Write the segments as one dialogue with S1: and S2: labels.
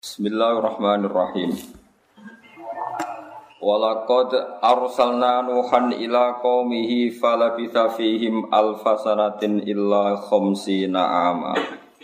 S1: Bismillahirrahmanirrahim. Walaqad arsalna Nuhan ila qaumihi falabitha fihim alfa sanatin illa khamsina ama.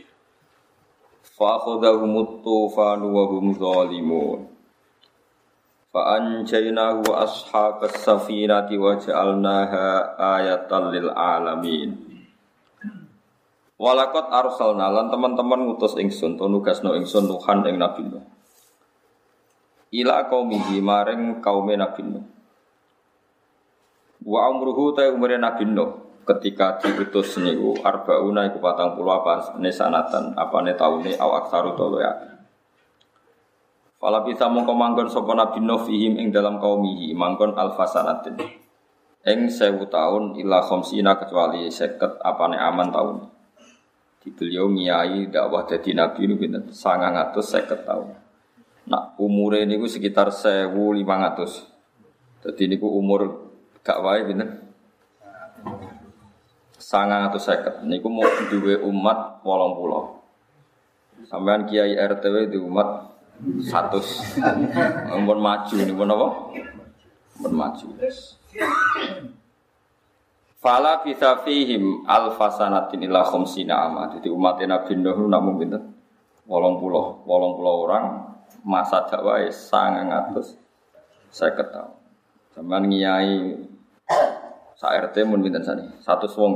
S1: Fa akhadhahumut tufanu wa hum zalimun. Fa anjaynahu wa ashabas safinati wa ja'alnaha ayatan lil alamin. Walakot arsalna lan teman-teman ngutus ingsun to nugasno ingsun Nuhan ing Nabi Nuh. Ila qaumihi maring kaume Nabi Nuh. Wa umruhu ta umure Nabi Nuh ketika diutus niku arbauna iku 40 apa sanatan apane taune au aksaru to ya. Fala bisa mongko manggon sapa Nabi Nuh fihim ing dalam qaumihi manggon alfasanatin. Ing 1000 taun ila khamsina kecuali 50 apane aman taun. Beliau ngiyai dakwah dadi nabi niku pinten 950 tahun. Nah, umure niku sekitar 1500. Dadi niku umur gak wae pinten? 950. Niku mau duwe umat 80. Sampean kiai RTW di umat 100. Ampun maju niku napa? Ampun maju. Fala bisa fihim alfasanatin ila khamsina ama. Jadi umat Nabi Nuh nak mung pinten? 80 orang masa dakwah 950 tahun. Sampeyan ngiyai sak RT mun pinten sane? 100 wong.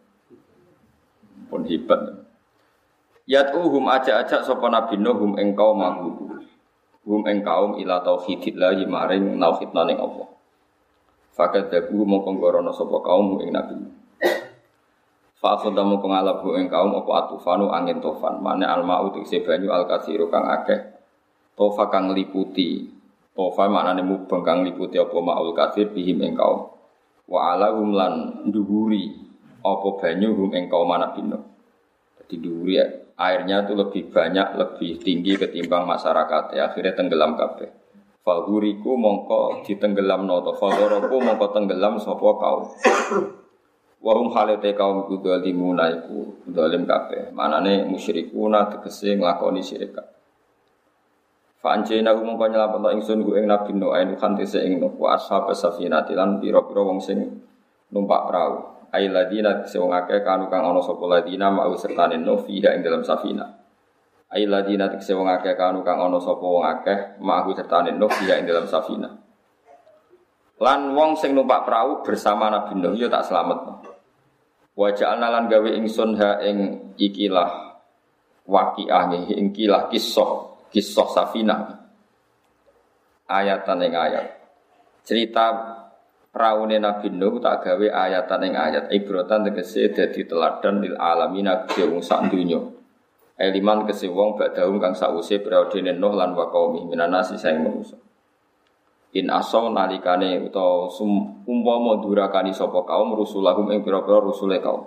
S1: Pun hebat. Yad'uhum ajak-ajak sapa Nabi Nuh hum ing kaum maghdubi. Hum ing kaum ila tauhidillah maring tauhidna ning Allah. Fakat dabu mongko ngorono sapa kaum ing Nabi. Fa khadamu ngalabu ing kaum apa atufanu angin tofan. Mane almau tegese banyu alkasiru kang akeh. Tofa kang liputi. Tofa maknane mubeng kang liputi apa maul kasir bihim ing kaum. Wa alahum lan dhuwuri apa banyu hum ing kaum Nabi. Dadi dhuwuri airnya itu lebih banyak, lebih tinggi ketimbang masyarakat. Akhirnya tenggelam kabeh. Faguriku mongko ditenggelamno to fagoroku mongko tenggelam sapa kaum. Wa hum halate kaum iku zalimuna iku zalim kabeh. Manane musyrikuna tegese nglakoni syirik. Fa anjena mongko nyelametno ingsun ku ing Nabi Nuh ainu khantise ing Nuh wa ashabas safinati lan pira-pira wong sing numpak prau. Ai ladina sing akeh kanu kang ana sapa ladina mau sertane Nuh fiha ing dalam safinah. Ai ladina tekse wong akeh kanu kang ana sapa wong akeh ma'hu sertane Nuh ya ing dalam safina. Lan wong sing numpak perahu bersama Nabi Nuh ya tak slametno. Wa ja'alna lan gawe ingsun ha ing ikilah waqiah ing ikilah kisah safina. Ayatan ing ayat. Cerita praune Nabi Nuh tak gawe ayatan ing ayat. Ibratan tegese dadi teladan lil alamin kedhe wong sak donya. Eliman kese wong badahum kang sause periode Nuh lan wa qaumi minanasi saing manusa. In asaw nalikane utawa umpama durakani sapa kaum rusulahum ing pira-pira rusule kaum.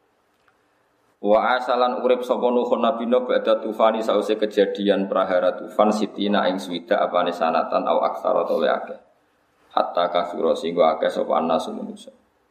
S1: Wa asalan urip sapa Nuh Nabi Nuh badha tufani sause kejadian prahara tufan sitina ing swida apane sanatan au aksara tole akeh. Hatta kasura singgo akeh sapa anasu manusa.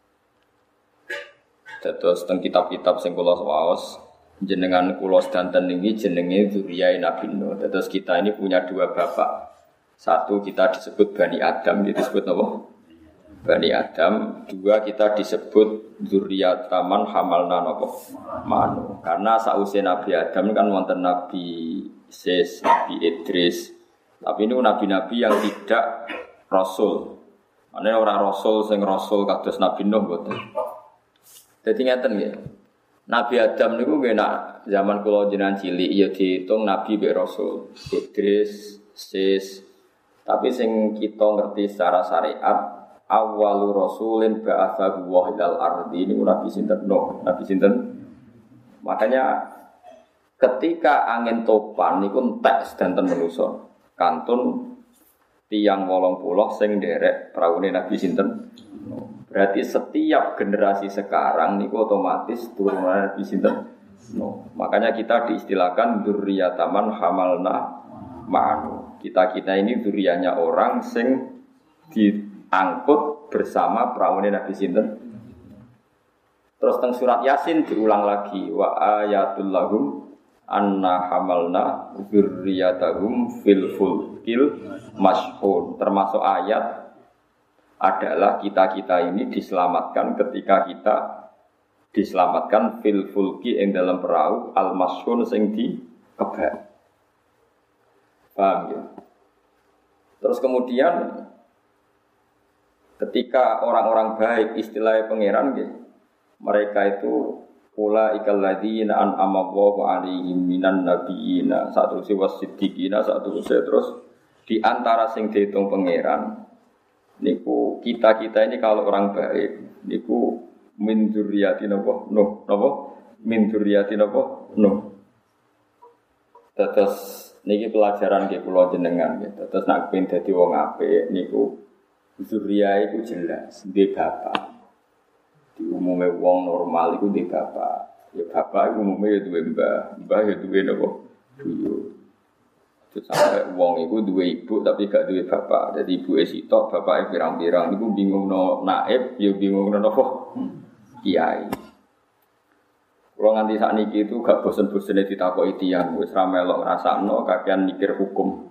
S1: Dados teng kitab-kitab sing kula waos jenengan kula sedanten niki jenenge dzurriyyah Nabi Nuh. Terus kita ini punya dua bapak. Satu kita disebut Bani Adam, disebut apa? Bani Adam. Dua kita disebut dzurriyyah taman hamalna apa? Manu. Karena sause Nabi Adam kan wonten Nabi Sis, Nabi Idris. Tapi ini nabi-nabi yang tidak rasul. Mane ora rasul sing rasul kados Nabi Nuh mboten. Dadi ngeten nggih. Nabi Adam niku nggih nak zaman kula jenengan cilik ya diitung nabi mek rasul. Idris, Sis. Tapi sing kita ngerti secara syariat awwalu rasulin ba'atsahu wa ilal ardi niku nabi sinten Nuh, nabi sinten. Makanya ketika angin topan niku entek sedanten manusa. Kantun tiyang 80 sing nderek praune nabi sinten. Berarti setiap generasi sekarang niku otomatis turunan Nabi sinten. No. Makanya kita diistilahkan dzurriyyah taman hamalna ma'anu. Kita ini dzurriyyahnya orang sing diangkut bersama praune Nabi sinten. Terus teng surat Yasin diulang lagi wa ayatul lahum anna hamalna dzurriyyatahum fil fulkil mashhun. Termasuk ayat adalah kita-kita ini diselamatkan ketika kita diselamatkan fil fulki ing dalam perahu al mashhun sing dikebak. Paham ya? Terus kemudian ketika orang-orang baik istilahnya pangeran gitu, mereka itu ulaikal ladzina an'ama Allahu 'alaihim minan nabiyina satu wasiddiqina satu terus di antara sing dihitung pangeran niku kita-kita ini kalau orang baik niku min dzurriyyati napa min dzurriyyati napa terus niki pelajaran nggih kula jenengan nggih terus nek ben dadi wong apik niku dzurriyyah iku jelas duwe bapak. Di umumnya wong normal itu di bapak, ya bapak itu umumnya ya dua mbah ya dua napa buyut. Terus sampai wong itu dua ibu tapi gak dua bapak, jadi ibu esitok bapak pirang-pirang, itu bingung no naib, ya bingung no napa kiai. Kalau nganti saat niki itu gak bosen-bosennya ditakoki tiyang, wis ra melok ngrasakno kakean mikir hukum.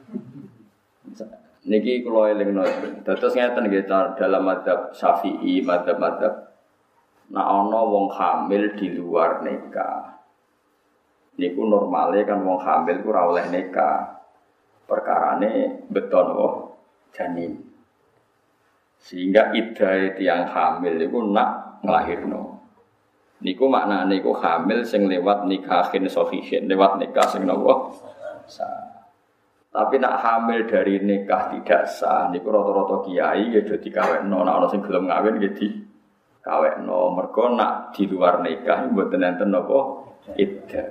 S1: Niki kula elingno, terus ngeten nggih dalam mazhab Syafi'i, mazhab nah ana wong hamil di luar nikah. Niku normale kan wong hamil ku ora oleh nikah. Perkarane beton janin. Sehingga iddah tiyang hamil iku nak nglahirno. Niku maknane iku hamil sing lewat nikahin sahihin, lewat nikah sing napa sah. Tapi nak hamil dari nikah tidak sah niku rata-rata kiai ya do dikawekno, nek ana sing gelem ngawin ya kawekno, mergo nak di luar nikah mboten enten napa iddah.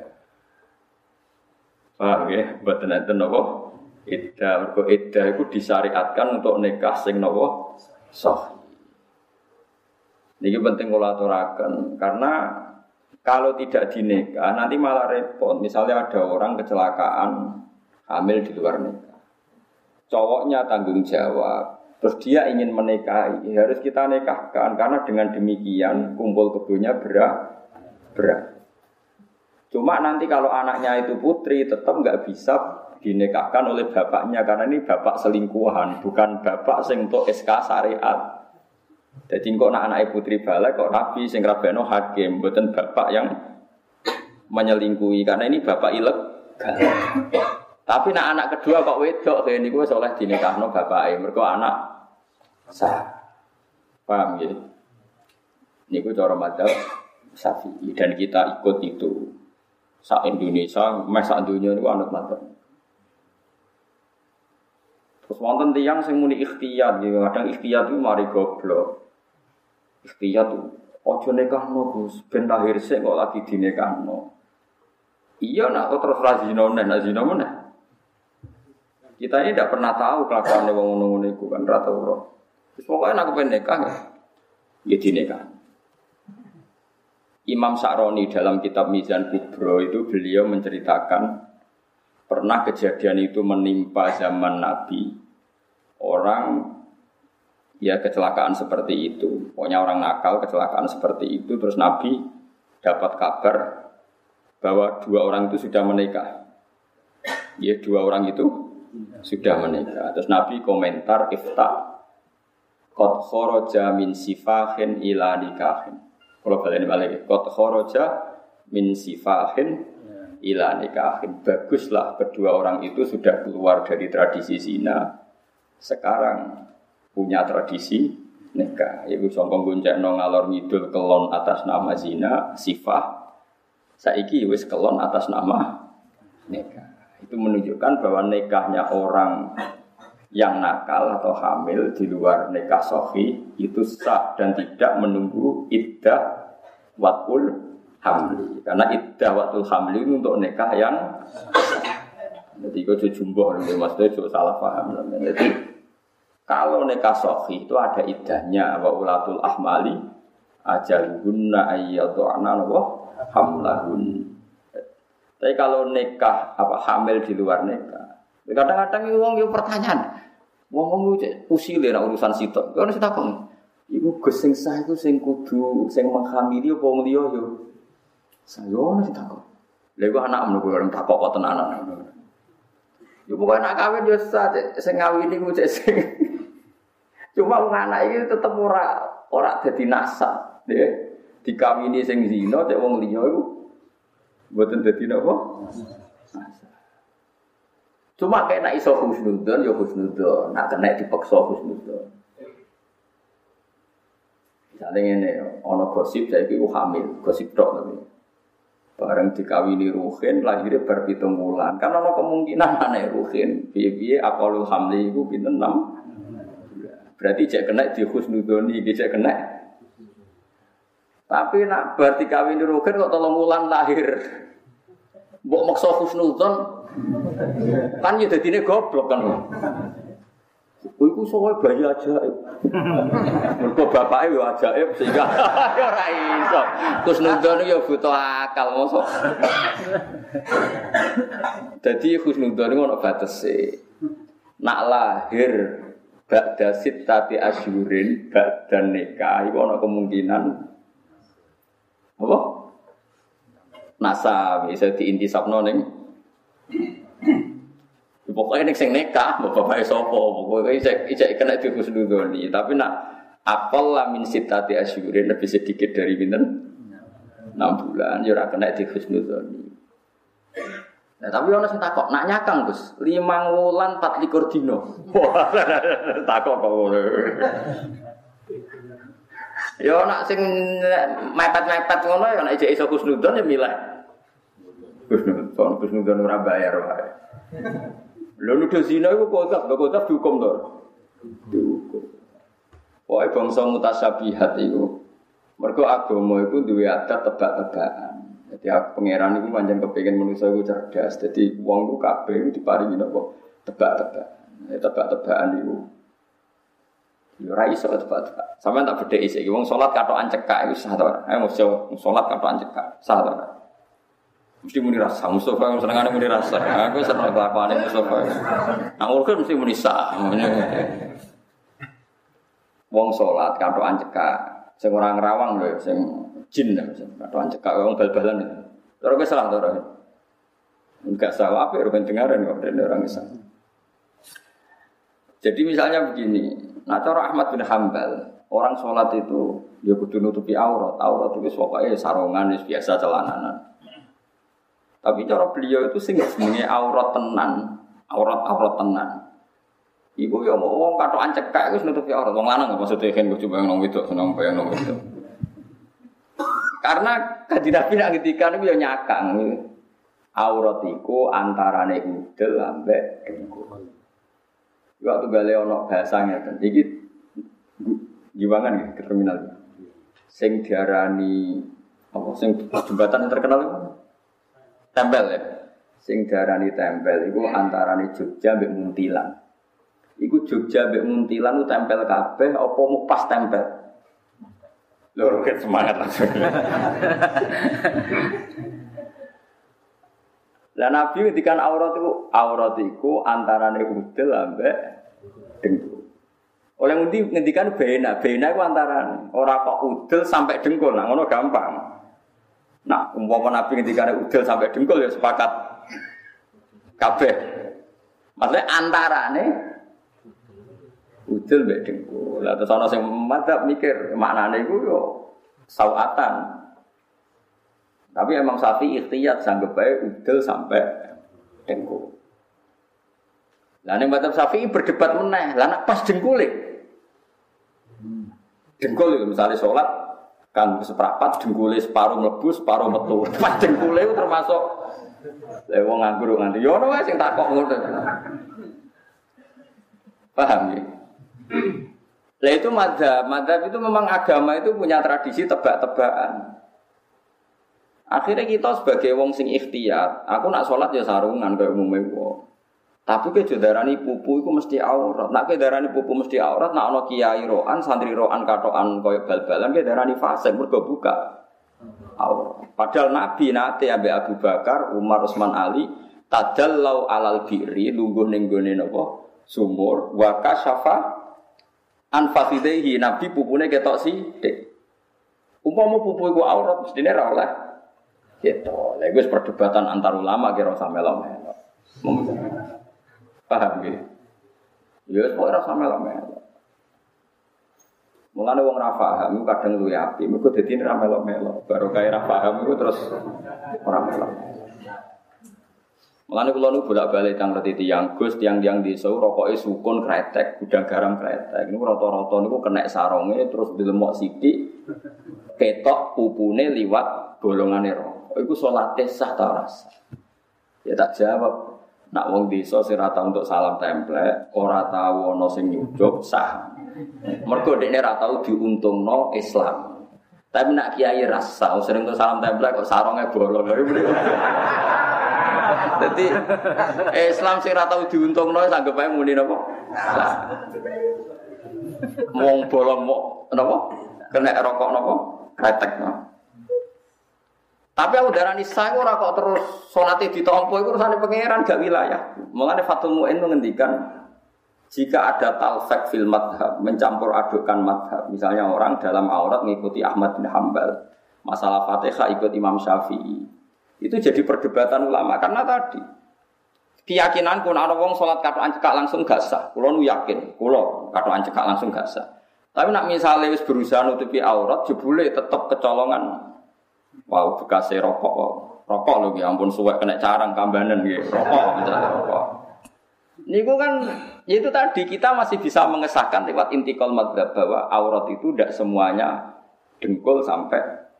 S1: Paham ya? Mboten enten napa iddah, mergo iddah iku disyariatkan untuk nikah sing napa sahih. Niki penting kula aturaken karena kalau tidak dinikah nanti malah repot. Misalnya ada orang kecelakaan hamil di luar nikah. Cowoknya tanggung jawab. Terus dia ingin menikahi, harus kita nikahkan karena dengan demikian kumpul kebonya berat. Cuma nanti kalau anaknya itu putri tetap nggak bisa dinikahkan oleh bapaknya karena ini bapak selingkuhan, bukan bapak sing untuk SK syariat. Jadi kok anak putri balik kok nabi sing rabeno hakim, bukan bapak yang menyelingkuhi karena ini bapak ilegal. Tapi anak kedua kok wedok kayak niku wis oleh dinikahno bapake, mergo anak sah. Paham ya? Niku cara madzhab Syafi'i dan kita ikut itu. Sak Indonesia, sak dunia niku anut madzhab. Terus wonten tiyang sing muni ikhtiyat, ya kadang ikhtiyat itu mari goblok. Ikhtiyat itu ojo nikahno Gus, ben lahir sik kok lagi dinikahno. Iya nak kok terus ra zina meneh. Kita ini tidak pernah tahu kelakuan wong ngono-ngono iku kan ra tau ora. Wis pokoke nek kepen nikah ya dinikah. Imam Sa'roni dalam kitab Mizan Kubro itu beliau menceritakan pernah kejadian itu menimpa zaman Nabi. Orang ya kecelakaan seperti itu. Pokoknya orang nakal kecelakaan seperti itu terus Nabi dapat kabar bahwa dua orang itu sudah menikah. Ya dua orang itu sudah menikah. Terus Nabi komentar ifta qad kharaja min sifahin ila nikahin. Kalau balik balik qad kharaja min sifahin ila nikahin. Baguslah kedua orang itu sudah keluar dari tradisi zina. Sekarang punya tradisi nikah. Ibu songkong goncekno ngalor ngidul kelon atas nama zina, sifah. Saiki wis kelon atas nama nikah. Itu menunjukkan bahwa nikahnya orang yang nakal atau hamil di luar nikah sahih itu sah dan tidak menunggu iddah watul hamli. Karena iddah watul hamli itu untuk nikah yang jadi itu jumbo, maksudnya itu salah paham. Jadi kalau nikah sahih itu ada iddahnya wa ulatul ahmali ajaluhunna ayyadhana wa hamlahun. Tapi kalau nikah hamil di luar nikah, kadang-kadang wong yo pertanyaan, wong usile nek urusan sitok. Ono sing takon, iku Gus sing sah iku sing kudu sing menghamili apa wong liya yo. Saya ono sing takon. Lha iku anakmu kok orang takok kok tenanan. Yo pokoke anak kawin yo sing ngawini ku cek sing. Cuma wong anak iki tetep ora dadi nasab, nggih. Dikawini sing zina cek wong liya iku mboten dadi napa? Cuma kena iso husnudzon ya husnudzon, nak kena dipaksa husnudzon. Misalnya ngene, ana gosip saiki ku hamil, gosip tok tapi. Bareng dikawini Ruhin lahirnya bar 7 wulan. Kan ana kemungkinan anake Ruhin, piye-piye aqalul hamli iku pinten 6. Berarti jek kena di husnudzoni, iki jek kena. Tapi nak bar dikawini Ruhin kok 3 wulan lahir. Mbok maksa husnudzon kan ya dadine goblok kan. Iku sowe bayi ajaib. Mergo bapake yo ajaib sehingga ora iso. Husnudzon yo butuh akal mosok. Dadi husnudzon ono batese. Nak lahir ba'da sittati asyurin ba'da nikah iku ono kemungkinan apa? Nasab bisa diintisabno ning pokoknya nek sing nikah, bapak sapa, pokoknya ijek kena dihusnudzoni. Tapi nak apal la min sitati asyurin lebih sedikit dari pinten 6 bulan ya ora kena dihusnudzoni. Nah, tapi ono sing takok, nak nyakang, Gus, 5 wulan 24 dina. Wah, takok kok ngono. Ya nak sing mepet-mepet ngono ya nek ijek iso husnudzon ya milih. Husnudzon ora bayar wae. Lha nuduh zina iku kodap dihukum to. Dihukum. Pokoke bangsa mutasyabihat iku. Mergo agama iku duwe adat tebak-tebakan. Dadi pangeran iku pancen kepengin manusa iku cerdas. Dadi wong ku kabeh diparingi napa tebak-tebakan. Tebak-tebakan iku. Ya ora iso tebak-tebakan. Sampeyan tak bedheki iki wong salat katokan cekak iku sah to ora? Ayo mesti salat katokan cekak, sah to ora? Mesti muni rasa, Mustafa yang senengane muni rasa. Aku seneng kelakuane Mustafa. Nang urut mesti muni sah. Wong salat katokan cekak, sing ora ngrawang lho, sing jin katokan cekak wong bal-balan itu. Ora wis salah to ora. Enggak salah apa ben dengaran kok dene orang Islam. Jadi misalnya begini, nah cara Ahmad bin Hambal, orang salat itu ya kudu nutupi aurat. Aurat itu pokoke sarungan wis biasa celananan. Tapi cara beliau itu sing jenenge aurat tenan, aurat tenan. Iku ya mau wong katokan cekak wis nutupi aurat. Wong lanang maksudnya kan kudu bayang nang wedok, seneng bayang nang wedok. Karena kanjeng Nabi nak ngendikan iku ya nyakang. Aurat iku antarane udel ambek dengkul. Waktu gale ana bahasa ngeten. Iki giwangan ya ke terminal. Sing diarani apa sing jembatan yang terkenal itu? Tempel ya. Sing diarani tempel iku antarane Jogja mbek Muntilan. Iku Jogja mbek Muntilan ku tempel kabeh apa mu pas tempel. Lho ket semangat langsung. Lah Nabi ngendikan aurat iku antarane udel ambek dengkul. Oleh ngendikan bena iku antarane ora kok udel sampai dengkul. Nah ngono gampang. Nah, umpama Nabi ngendikan udel sampai dengkul ya sepakat kabeh. Maksudnya antarane udel mbek dengkul. Lah terus ana sing madzhab mikir maknane iku yo sawatan. Tapi Imam Syafi'i ikhtiyat sanggep bae udel sampai dengkul. Lah ning madzhab Syafi'i berdebat meneh. Lah nek pas dengkule. Dengkul itu misalnya salat kan seprapat dengkule separuh mlebu, separuh metu. Pas dengkule itu termasuk wong nganggur nganti yo ono wae sing takok ngono. Paham ya? Lah itu madzhab itu memang agama itu punya tradisi tebak-tebakan. Akhirnya kita sebagai wong sing ikhtiyat, aku nak sholat ya sarungan kayak umumnya wong. Tapi ke darani pupu itu mesti aurat. Nak ke darani pupu mesti aurat, nak ono kiai roan, santri roan katokan kayak bal-balan ke darani fasik mergo buka aurat. Padahal Nabi nate ambek Abu Bakar, Umar, Utsman, Ali tadallau alal birri lungguh ning gone napa sumur wa kasyafa an fakhidaihi. Nabi pupune ketok sithik. Umpama pupu iku aurat mestine ra oleh Gitu. Lha iku perdebatan antar ulama kira usah melok-melok. Paham nggih? Ya wis kok ora usah melok-melok. Mulane wong ra paham kadang luwih apik, mergo dadi ora melok-melok. Baru kaya ra paham iku terus ora melok. Mulane kula nu bolak-balik tang reti tiyang Gus, tiang-tiang desa rokoke sukun kretek, gudang garam kretek. Niku rata-rata niku kena saronge terus dilemok sithik ketok pupune liwat bolongane rokok. Iku salate sah ta ora sah? Ya tak jawab. Nak wong desa sing ora tau untuk salam templek, ora tau ana sing nyucup sah. Mergo dekne ora tau diuntungno Islam. Tapi nak kiai rasa sering untuk salam templek kok saronge bolong. Dadi Islam sing ora tau diuntungno sanggep ae muni napa? Wong bolong mok napa? Kena rokok napa? Kretek napa? Tapi aku darani sah ora kok terus salate ditampa iku urusane pangeran gak wilayah. Mulane Fathul Mu'in mengendikan jika ada talfek fil madhab, mencampur adukkan madhab, misalnya orang dalam aurat mengikuti Ahmad bin Hanbal, masalah Fatihah ikut Imam Syafi'i, itu jadi perdebatan ulama karena tadi keyakinanku ana wong salat katokan cekak langsung gak sah. Kulo nu yakin, kulo katokan cekak langsung gak sah. Tapi nak misale wis berusaha nutupi aurat jebule tetep kecolongan. Wow, bekase rokok. Rokok lho ya ampun suwek kena carang kambanen nggih. Rokok misalnya rokok. Niku kan itu tadi kita masih bisa mengesahkan lewat intikal madzhab bahwa aurat itu tidak semuanya dengkul sampai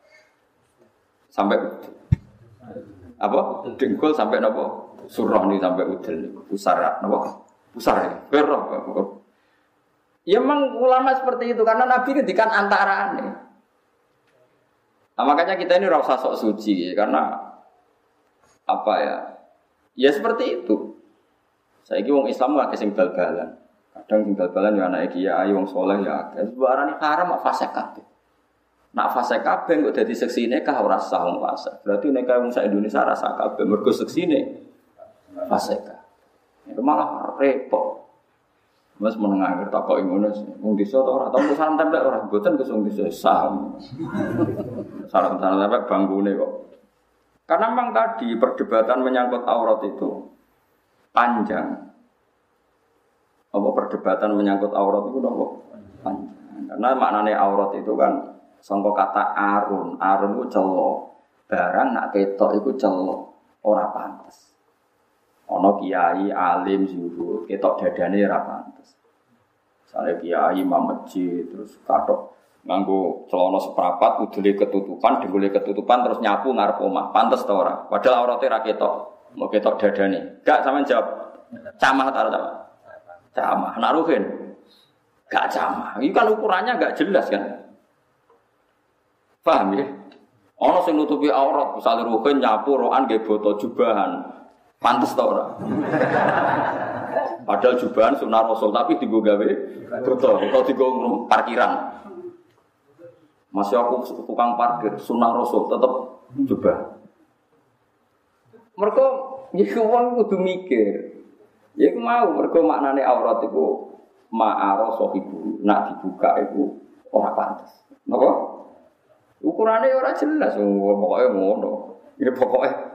S1: apa? Dengkul sampai napa? Surah ni sampai udel. Pusara napa? Pusar ya. Berok. Ya memang ulama seperti itu karena Nabi ngendikan antarane. Nah, makanya kita ini rasa sok suci karena apa ya? Ya seperti itu. Saiki wong Islam akeh sing bal-balan. Kadang sing bal-balan ya anake kiai wong saleh ya akeh. Sebarane haram kok fasik kabeh. Nak fasik kabeh kok dadi seksine kah ora sah wong fasik. Berarti nek wong sak Indonesia rasa kabeh mergo seksine fasik. Itu malah repot. Mas menengah akhir takoki ngono wong desa ta ora tau salam templek ora mboten kesung desa saham. Salam templek banggune kok. Karena memang tadi perdebatan menyangkut aurat itu panjang. Apa perdebatan menyangkut aurat itu napa? Panjang. Karena maknane aurat itu kan sangka kata arun. Arun itu celo. Barang nak ketok iku celo, ora pantes. Ana kiai alim zuhud, ketok dadane ora pantes. Sale kiai imam masjid terus katok nganggo celana seprapat udele ketutupan, dengkule ketutupan terus nyapu ngarep omah. Pantes ta ora? Padahal aurate ra ketok. Mau ketok dadane. Gak sampean jawab. Camah ta ora? Camah. Nak ruhin. Gak camah. Iki kan ukurannya gak jelas kan. Paham ya? Ana sing nutupi aurat, misale ruhin nyapu rokan nggih boto jubahan. Pantes ta ora? Padahal jubahan sunah Rasul tapi dienggo gawe boto atau dienggo parkiran. Masih aku tukang parkir sunah Rasul tetep jubah. Mergo iku wong kudu mikir. Ya iku mau mergo maknane aurat iku ma'ara sahibu. Nak dibuka iku ora pantes. Napa? Ukurane ora jelas pokoke ngono. Ya pokoke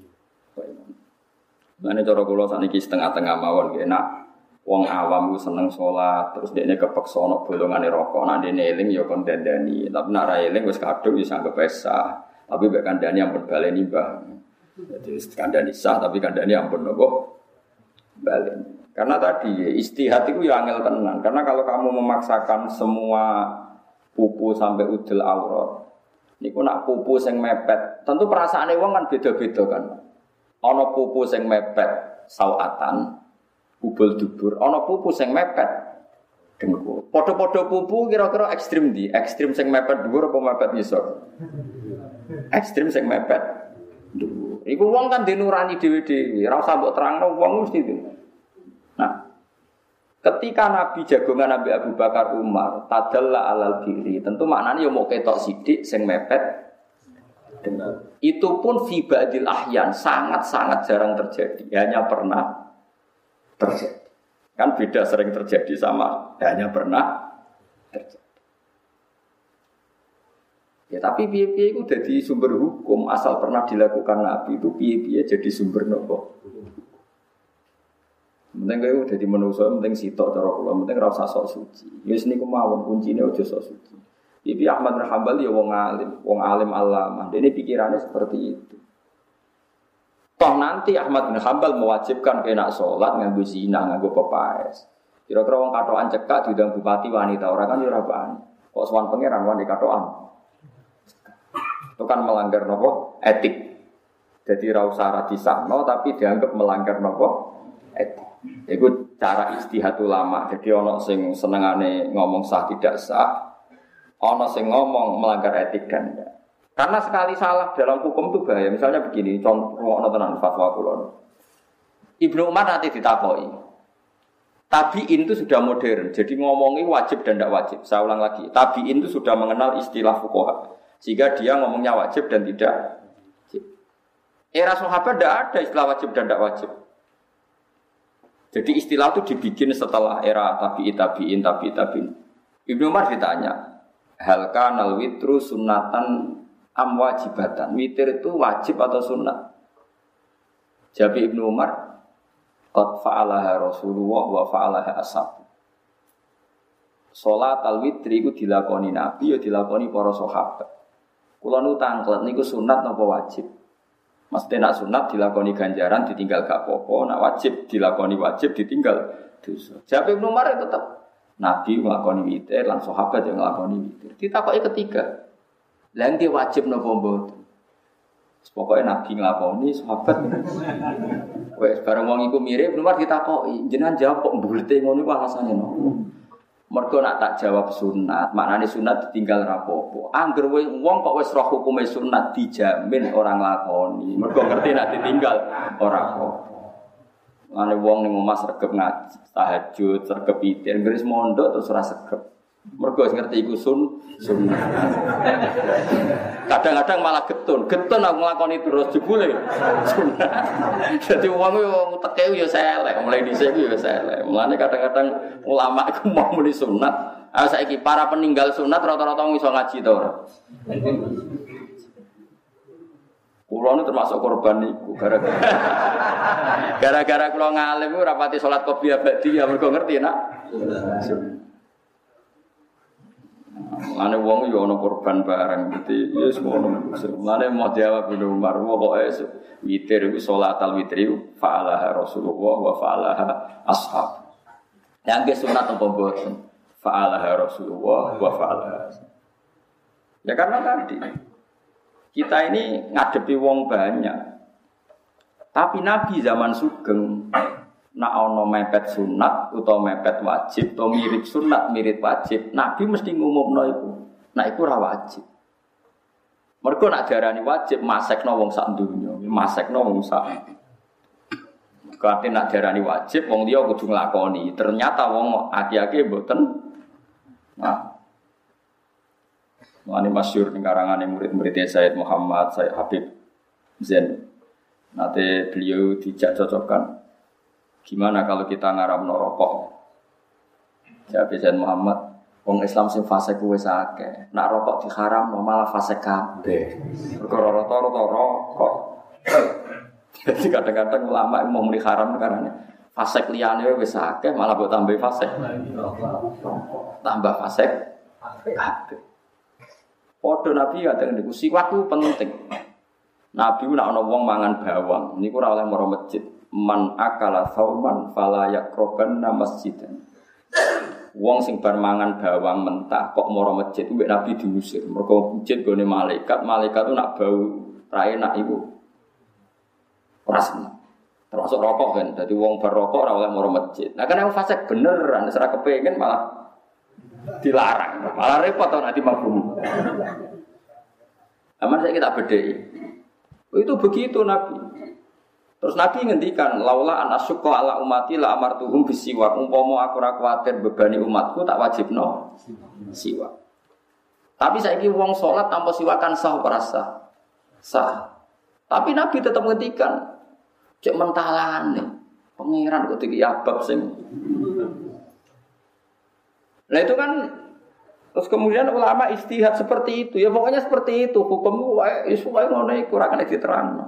S1: Mane cara kula sakniki setengah-tengah mawon nggih nak wong awam ku seneng salat terus dekne kepeksa ana bolongane rokok nak dene eling ya kon dandani tapi nak ra eling wis kadung wis anggap sah tapi mek kandhani ampun baleni Mbah. Jadi kandhani sah tapi kandhani ampun napa baleni. Karena tadi istihad itu ya angel tenan karena kalau kamu memaksakan semua pupu sampai udel aurat niku nak pupu sing mepet tentu perasaane wong kan beda-beda kan. Ana pupu sing mepet sawatan, kubul dubur. Ana pupu sing mepet dengkul. Padha-padha pupu kira-kira ekstrem ndi? Ekstrem sing mepet dhuwur apa mepet ngisor? Ekstrem sing mepet dhuwur. Iku wong kan dinurani dhewe-dhewe. Ora usah mbok terangno wong mesti itu. Nah, ketika Nabi jagongan Nabi Abu Bakar Umar tadalla alal diri, tentu maknanya ya mau ketok sidik sing mepet. Itu pun fi ba'dil ahyan sangat-sangat jarang terjadi. Hanya pernah terjadi. Kan beda sering terjadi sama hanya pernah terjadi. Ya tapi piye-piye itu jadi sumber hukum asal pernah dilakukan Nabi itu piye-piye jadi sumber nopo. Penting kaya udah di manusia, penting sitok cara kula, penting ora usah sok suci. Wis niku mawon kuncine aja sok suci. Ibi Ahmad bin Hanbal ya wong alim alama. Dene pikirannya seperti itu. Toh nanti Ahmad bin Hanbal mewajibkan kena salat nganggo zina, nganggo pepaes. Kira-kira wong katokan cekak diundang bupati wanita ora kan ya ora bani. Kok sowan pangeran wanita katokan. Itu kan melanggar nopo etik. Jadi ra usah disahno tapi dianggap melanggar nopo etik. Itu cara ijtihad ulama. Jadi ana sing senengane ngomong sah tidak sah, ana sing ngomong melanggar etik dan enggak. Karena sekali salah dalam hukum itu bahaya. Misalnya begini, contoh ngono tenan fatwa kula. Ibnu Umar nanti ditakoki. Tabi'in itu sudah modern. Jadi ngomongi wajib dan tidak wajib. Saya ulang lagi. Tabi'in itu sudah mengenal istilah fuqaha. Sehingga dia ngomongnya wajib dan tidak wajib. Era sahabat tidak ada istilah wajib dan tidak wajib. Jadi istilah itu dibikin setelah era tabi'in. Ibnu Umar ditanya, hal kanal witru sunnatan am wajibatan. Witir itu wajib atau sunnah? Jawab Ibnu Umar, qad fa'alaha Rasulullah wa fa'alaha ashab. Salat al-witri itu dilakoni Nabi ya dilakoni para sahabat. Kula nu tanglet niku sunat napa wajib? Mesti nak sunat dilakoni ganjaran ditinggal gak apa-apa, nak wajib dilakoni wajib ditinggal dosa. Jawab Ibnu Umar tetap Nabi nglakoni witir lan sahabat yang nglakoni witir. Ditakoki ketiga. Lah nggih wajib napa mboten? Pokoke Nabi nglakoni sahabat. Wes bareng wong iku mirip Ibnu Umar ditakoki, jenengan jawab kok mbulete ngono iku alasane nopo? Mergo nak tak jawab sunat, maknane sunat ditinggal rapopo. Angger wong kok wis roh hukume sunat dijamin orang lakoni. Mergo ngerti nak ditinggal ora apa. Mane wong ning omah sregep ngaji, tahajud, sregep witir, ngris mondok terus ora sregep. Mergo wis ngerti iku sunat. Kadang-kadang malah getun aku nglakoni terus jebule sunat. Dadi wong yo teke yo selek, mulai dhisik yo selek. Mulane kadang-kadang ulama iku mau muni sunat. Ah saiki para peninggal sunat rata-rata iso ngaji to ora? Kulo nu termasuk korban niku gara-gara kulo ngalim ora pati salat qobliyah ba'diyah mergo ngerti nak. Lane wong yo ana korban bareng dadi ya semono. Lane mau jawab Ibnu Umar pokoke witir iku salatal witri fa'alaha Rasulullah wa fa'alaha ashab. Yang sunat apa mboten? Fa'alaha Rasulullah wa fa'alaha. Ya karena tadi kita ini ngadepi wong banyak. Tapi Nabi zaman sugeng nak ana mepet sunat utawa mepet wajib utawa mirip sunat mirip wajib, Nabi mesti ngumumno iku. Nak iku ora wajib. Mergo nak diarani wajib masekno wong sak donya, masekno wong sak. Kate nak diarani wajib wong liya kudu nglakoni. Ternyata wong aki-aki mboten. Nah. Mane masyhur ning karangane murid-murid Sayyid Muhammad, Sayyid Habib Zain. Nanti beliau dijak cocokkan. Gimana kalau kita ngaramno rokok? Jawab Sayyid Muhammad, wong Islam sing fasik kuwi akeh. Nak rokok diharamno malah fasik kabeh. Perkara rata-rata rokok. Jadi kadang-kadang ulama mau muni haram karena fasik liyane wis akeh malah mbok tambah fasik. Tambah fasik kabeh. Padha Nabi kadang niku siwak ku penting. Nabi nek ana wong mangan bawang, niku ora oleh maro masjid. Man akala sauman fala yaqrabanna masjidan. Wong sing bar mangan bawang mentah kok maro masjid kuwi Nabi diusir. Mergo masjid gone malaikat tu nak bau ra enak iku. Ora seneng. Termasuk rokok kan. Dadi wong bar rokok ora oleh maro masjid. Nah kan yang fasik beneran ora kepengin malah dilarang, malah repot tau nanti mabum. Aman saya kita bedai. Itu begitu Nabi. Terus Nabi ngendikan, laula an asyqa ala ummati la amartuhum bisiwak. Umpama aku ora kuwatir bebani umatku tak wajibno siwak. Tapi saiki wong salat tanpa siwakan sah ora sah? Sah. Tapi Nabi tetap ngendikan, cek mentalane. Pangeran kok iki abab sing. Nah itu kan Terus kemudian ulama istihad seperti itu. Ya pokoknya seperti itu. Hukum wae ngono iku ora kena diterangno.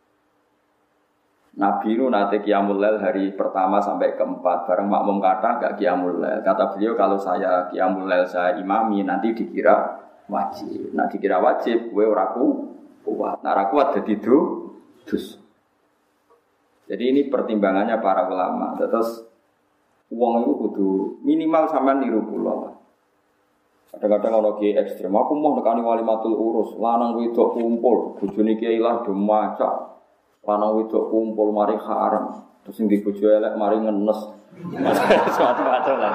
S1: Nabi itu nanti qiyamul lail hari pertama sampai keempat. Bareng makmum kata gak qiyamul lail. Kata beliau kalau saya qiyamul lail saya imami nanti dikira wajib. Nah dikira wajib gue ora kuat. Nah ora kuat jadi dus. Jadi ini pertimbangannya para ulama. Terus uang itu kudu minimal sampean niru kula. Kadang-kadang ono kiai ekstrem, aku mau nekani walimatul urus, lanang wedok kumpul, bojone kiai lah do maca. Lanang wedok kumpul mari haram, terus sing di bojo elek mari ngenes. Macam-macam lah.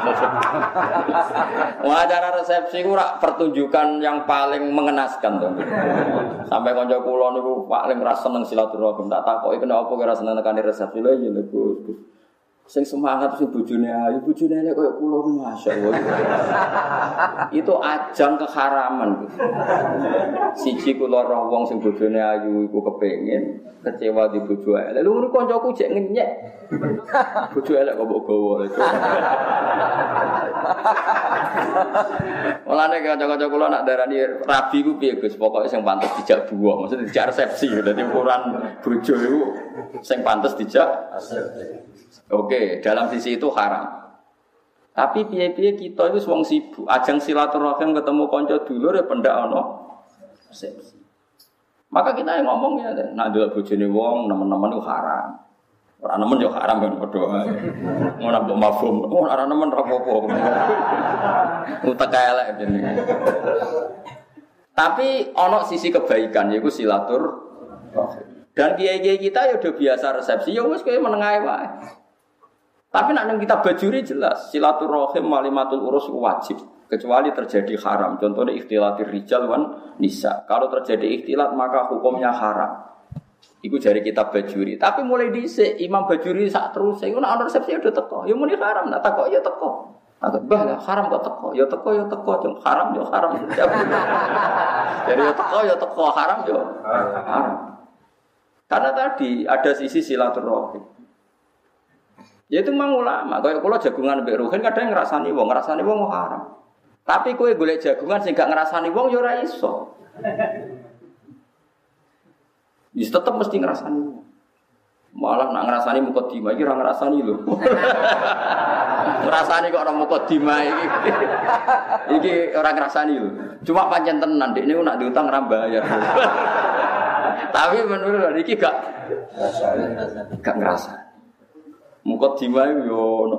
S1: Acara resepsi ku rak pertunjukan yang paling mengenaskan to. Sampai kanca kula niku paling ra seneng silaturahim, tak takoki kenapa kok ora seneng nekani resepsi lho ya Gus. Sing semangat sing bojone ayu, bojone elek koyo kula masyaallah. Itu ajang keharaman. Siji kula roh wong sing bojone ayu iku kepengin kecewa di bojo elek. Lha ngono kancaku jek ngenyek. Bojo elek kok mbok gawa itu. Mulane kanca-kanca kula nak darani rabi ku piye Gus, pokoke sing pantes dijak buah, maksudnya dijak resepsi. Dadi ukuran bojo iku sing pantes dijak resepsi. Oke, dalam sisi itu haram. Tapi piye-piye kita itu wong sibuk, ajang silaturahim ketemu kanca dulur ya pendak ana resepsi. Maka kita yang ngomong ya, nak ndelok bojone wong nemen-nemen itu haram. Ora nemen yo haram kan padha. Ngono mbok mafhum. Ora nemen ra apa-apa. Utek elek jenenge. Tapi ana sisi kebaikan yaiku silaturahim. Dan kiai-kiai kita ya udah biasa resepsi, ya wis kowe menengae wae. Tapi nek nang kitab bajuri jelas silaturahim walimatul urus wajib kecuali terjadi haram. Contohnya ikhtilatir rijal wan nisa. Kalau terjadi ikhtilat maka hukumnya haram. Iku jari kitab bajuri. Tapi mulai dhisik Imam Bajuri sak terus iku nek ana resepsi udah teko. Ya muni haram, nek takok ya teko. Takok bah lah haram kok teko. Ya teko cung haram ya haram. Jadi ya teko haram ya haram. Karena tadi ada sisi silaturahim. Yaitu mang ulama, kaya kula jagungan mbek ruhin kadang ngrasani wong haram. Tapi kowe golek jagungan sing gak ngrasani wong ya ora iso. Wis tetep mesti ngrasani wong. Malah nak ngrasani mukadimah iki ora ngrasani lho. Ngrasani kok ora mukadimah iki. Iki ora ngrasani lho. Cuma pancen tenan dekne nak diutang ora bayar. Tapi menurut iki gak ngrasani. Mukadimah yo ono.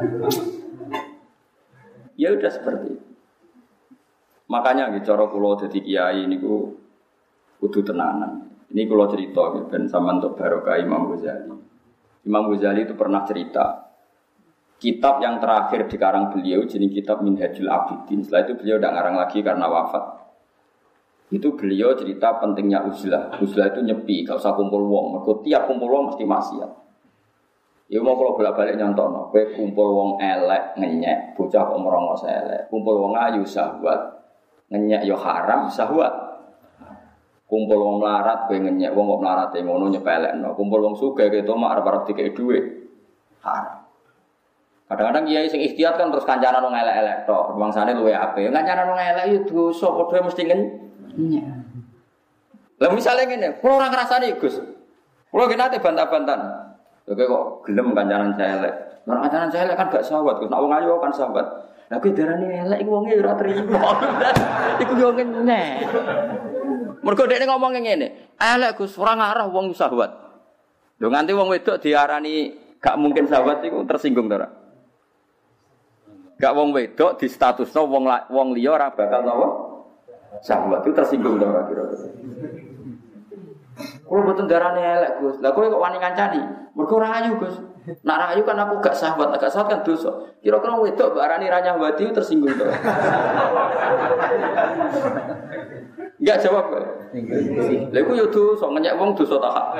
S1: Ya udah seperti itu. Makanya nggih cara kula dadi kiai niku kudu tenanan. Ini kula cerita ben sampean untuk barokah Imam Ghazali. Imam Ghazali itu pernah cerita kitab yang terakhir dikarang beliau jenis kitab Minhajul Abidin. Setelah itu beliau tidak ngarang lagi karena wafat. Itu beliau cerita pentingnya uzlah. Uzlah itu nyepi, gak usah kumpul wong. Mergo tiap kumpul wong mesti maksiat. Ya mau kalau bolak-balik nyontono, kowe kumpul wong elek ngenyek, bocah kok merongos elek. Kumpul wong ayu syahwat. Ngenyek yo haram syahwat. Kumpul wong melarat kowe ngenyek, wong kok melarate ngono nyepelekno. Kumpul wong sugih keto mak arep-arep dikek dhuwit. Haram. Kadang-kadang kiai sing ikhtiat kan terus kancanan wong elek-elek tok. Bangsane luwe apik. Kancanan wong elek yo dosa padha mesti ngenyek. Lah misale ngene, kula ora ngrasani Gus. Kula ki nate bantah-bantahan. Oke kok gelem kancanan elek. Nek kancanan elek kan gak syahwat, Gus. Nek wong ayu kan syahwat. Lah kuwi darane elek iku wonge ora trimo. Iku yo ngenyek. Mergo dekne ngomong ngene, elek Gus, ora ngarah wong syahwat. Lho nganti wong wedok diarani gak mungkin syahwat iku tersinggung to ora? Gak wong wedok di statusno wong liya ora bakal napa? Syahwat itu tersinggung to ora kira-kira. Kulo boten darane elek Gus. Lah kowe kok wani ngancani? Mergo ora ayu Gus. Nek ora ayu kan aku gak syahwat kan dosa. Kira-kira wedok mbak arani ra nyahwati tersinggung to. Enggak jawab kok. Lha iku yo dosa, ngenyek wong dosa ta hak.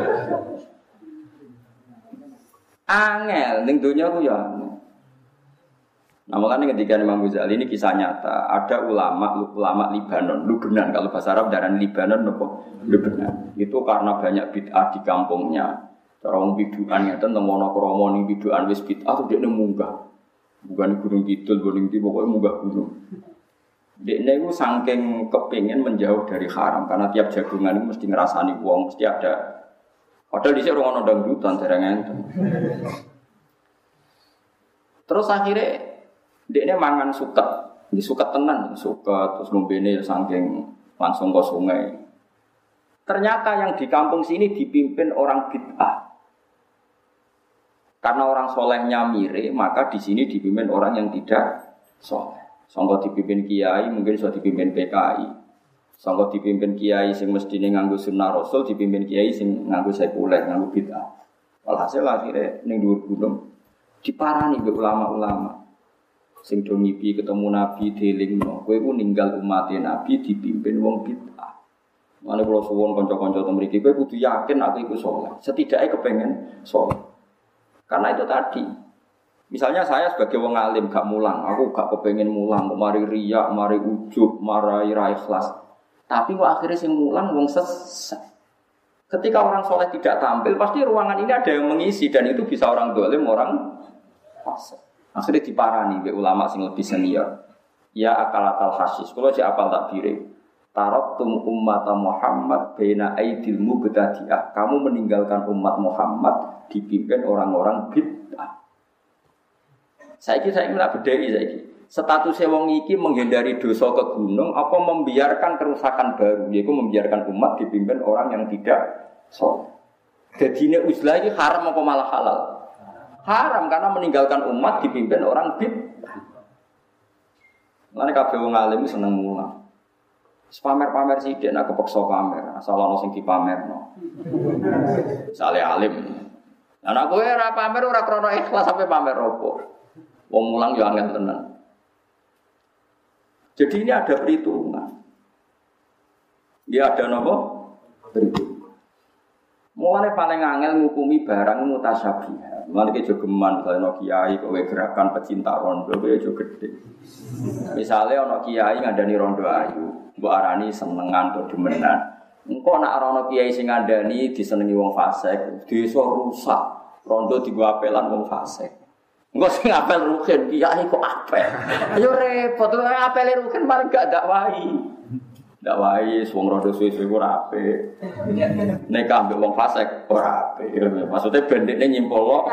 S1: Angel ning donya ku ya. Nah makanya ketika Imam Ghazali ini kisah nyata, ada ulama Libanon, Lubnan kalau bahasa Arab darah Libanon Lubnan. Itu karena banyak bid'ah di kampungnya. Cara wong bid'ah ngeten temono kromo ning bid'ah wis bid'ah tuh dia munggah. Bukan gunung kidul, gunung ndi pokoke munggah gunung. Dekne iku saking kepingin menjauh dari haram karena tiap jagungan itu mesti ngrasani wong, mesti ada. Padahal dhisik ora ono dangdutan dereng enten. Terus akhirnya dekne mangan suket, di suket tenan, suket terus ngombene saking langsung ke sungai. Ternyata yang di kampung sini dipimpin orang bid'ah. Karena orang solehnya mire, maka di sini dipimpin orang yang tidak soleh. Sangka dipimpin kiai, mungkin sudah dipimpin PKI. Sangka dipimpin kiai sing mestine nganggo sunnah Rasul, dipimpin kiai sing nganggo sekuler, nganggo bid'ah. Walhasil akhirnya ning dhuwur gunung diparani mbek ulama-ulama. Sing do ngipi ketemu Nabi delingno, kowe ku ninggal umat Nabi dipimpin wong bid'ah. Mane kula suwun kanca-kanca teng mriki kowe kudu yakin aku iku saleh. Setidaknya kepengen saleh. Karena itu tadi. Misalnya saya sebagai wong alim gak mulang, aku gak kepengen mulang, kok mari riya, mari ujub, mari ra ikhlas. Tapi kok akhirnya sing mulang wong sesat. Ketika orang soleh tidak tampil, pasti ruangan ini ada yang mengisi dan itu bisa orang dolim, orang fasik. Akhirnya diparani be ulama sing lebih senior. Ya akalatal hasis. Kalau si apal takbire. Taraktum ummata Muhammad baina aidil mubtadi'ah. Kamu meninggalkan umat Muhammad dipimpin orang-orang bid'ah. Saiki tak bedheki saiki. Statusnya wong iki menghindari dosa ke gunung apa membiarkan kerusakan baru, yaitu membiarkan umat dipimpin orang yang tidak saleh. Dadine uzlah iki haram apa malah halal? Haram karena meninggalkan umat dipimpin orang bid'ah. Lan kabeh wong alim seneng mulang. Pamer-pamer sithik nek kepeksa pamer, asal ana sing dipamerno. Sale alim. Lah nek kowe ora pamer ora krana ikhlas sampe pamer opo. Wong mulang yo angel tenan. Jadi ini ada perhitungan. Dia ada napa? Perhitungan. Mulane paling angel ngukumi barang mutasyabih. Mulane ki jogeman misalnya kiai kowe gerakan pecinta rondo kowe yo gedhe. Misale ana kiai ngandani rondo ayu, mbok arani senengan to demenan. Engko nek ana kiai sing ngandani disenengi wong fasik, desa rusak. Rondo digo apelan wong fasik. Engko sing apel rugen kiai kok apel. Yo repot, apel rugen paling gak dakwahi. Dakwahi wong rondo suwe-suwe ora apik. Nek ambek wong fasik ora apik. Maksude bendekne nyimpol.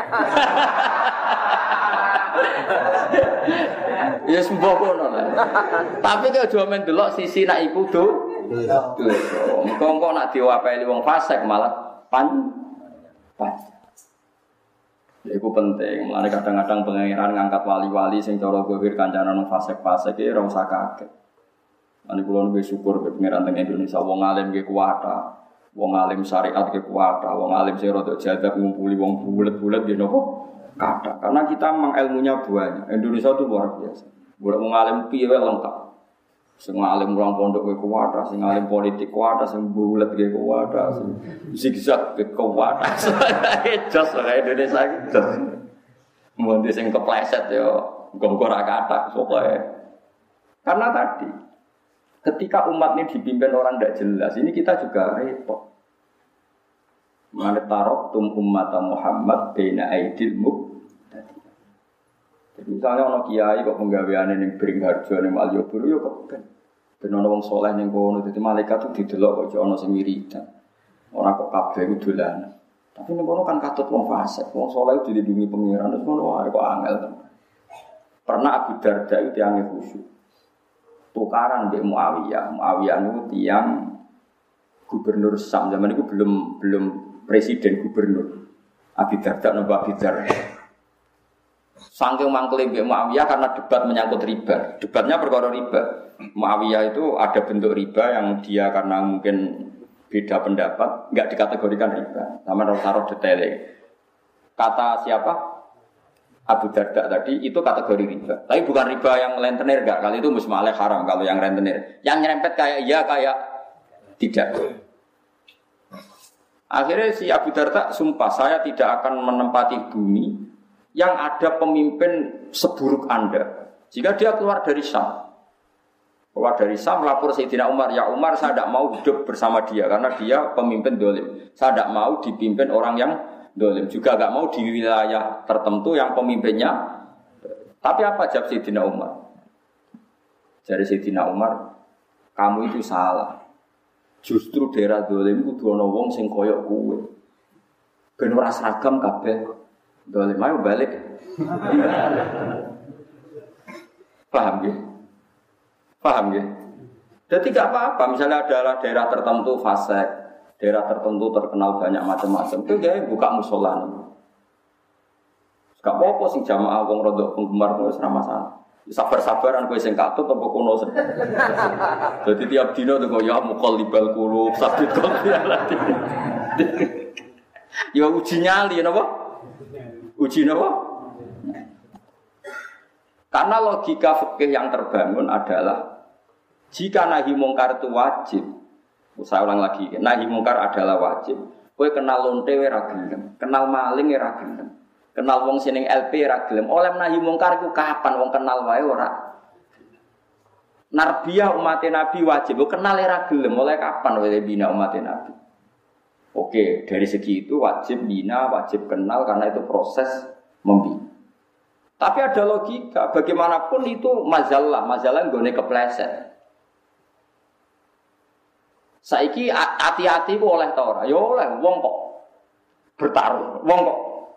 S1: Ya sembuh kono lah. Tapi kok aja men delok sisi nak iku dosa. Engko nak diwapeli wong fasik malah pan. Ya itu penting, mulane kadang-kadang pengiran ngangkat wali-wali sing cara zahir kancane nang fasik-fasik iki ora usah kaget. Ane kula nggih syukur be pengiran teng Indonesia wong alim nggih kuwata, wong alim syariat nggih kuwata, wong alim sing rada jadab ngumpuli wong bulet-bulet nggih napa kathah. Karena kita memang ilmunya banyak. Indonesia itu luar biasa. Boleh wong alim piye wae lengkap. Sing alim mulang pondok nggih kuwata, sing alim politik kuwata, sing bulet nggih kuwata, sing zigzag nggih kuwata. Jos kaya Indonesia iki jos. Mun sing kepleset yo engko ora kathah pokoke. Karena tadi ketika umat ini dipimpin orang tidak jelas, ini kita juga repot. Mantarok ummata Muhammad baina aidil mubtadi. Jadi misalnya ono kiai kok penggaweane ning Bringharjo ning Malioboro yo kepen. Ben ono wong saleh ning kono, dadi malaikat tuh didelok kok ono sing wiridan. Ora kok kabeh ku dolanan. Tapi ning kono kan katut wong fasik, wong saleh dilindungi pengiran terus ngono wae kok angel. Pernah Abu Darda itu tiange khusyuk. Tukaran mbek Muawiyah. Muawiyah niku tiyang gubernur Syam zaman itu belum presiden gubernur. Abu Darda napa Abu Darda. Saking mangkele mbek Muawiyah karena debat menyangkut riba. Debatnya perkara riba. Muawiyah itu ada bentuk riba yang dia karena mungkin beda pendapat enggak dikategorikan riba. Sama taruh detailnya. Kata siapa? Abu Darda tadi itu kategori riba. Tapi bukan riba yang rentenir enggak. Kali itu musmaleh haram kalau yang rentenir. Yang nyerempet kayak iya kayak tidak. Akhirnya si Abu Darda sumpah saya tidak akan menempati bumi yang ada pemimpin seburuk Anda. Jika dia keluar dari Syam. Keluar dari Syam lapor Sayyidina Umar, ya Umar saya tidak mau hidup bersama dia karena dia pemimpin dolim. Saya tidak mau dipimpin orang yang dolim. Juga tidak mau di wilayah tertentu yang pemimpinnya. Tapi apa jawab Sayyidina Umar? Dari Sayyidina Umar, kamu itu salah. Justru daerah dolim kudu ana wong sing koyok kowe. Ben ora seragam kabeh. Dolim ayo balik. Paham ya? Paham ya? Jadi tidak apa-apa. Misalnya adalah daerah tertentu fasik, daerah tertentu terkenal banyak macam-macam. Itu dia buka musola. Gak apa-apa sing jamaah wong rodok penggemar wis ora masalah. Sabar-sabaran kowe sing katut apa kono. Dadi tiap dina tuh ya muqallibal qulub, sabit qalbi alati. Ya uji nyali napa? Uji napa? Karena logika fikih yang terbangun adalah jika nahi mungkar itu wajib. Saya ulang lagi, nahi mungkar adalah wajib. Kowe kenal lonte ora gelem, kenal maling ora gelem. Kenal wong sining LP ra gelem. Oleh nahi mungkar iku kapan wong kenal wae ora. Narbiyah umat Nabi wajib kenal ra gelem. Oleh kapan wae bina umat Nabi. Oke, dari segi itu wajib bina, wajib kenal karena itu proses membina. Tapi ada logika, bagaimanapun itu mazalah nggone kepleset. Saiki hati-hati ku oleh ta ora? Ya oleh, wong kok bertaruh, wong kok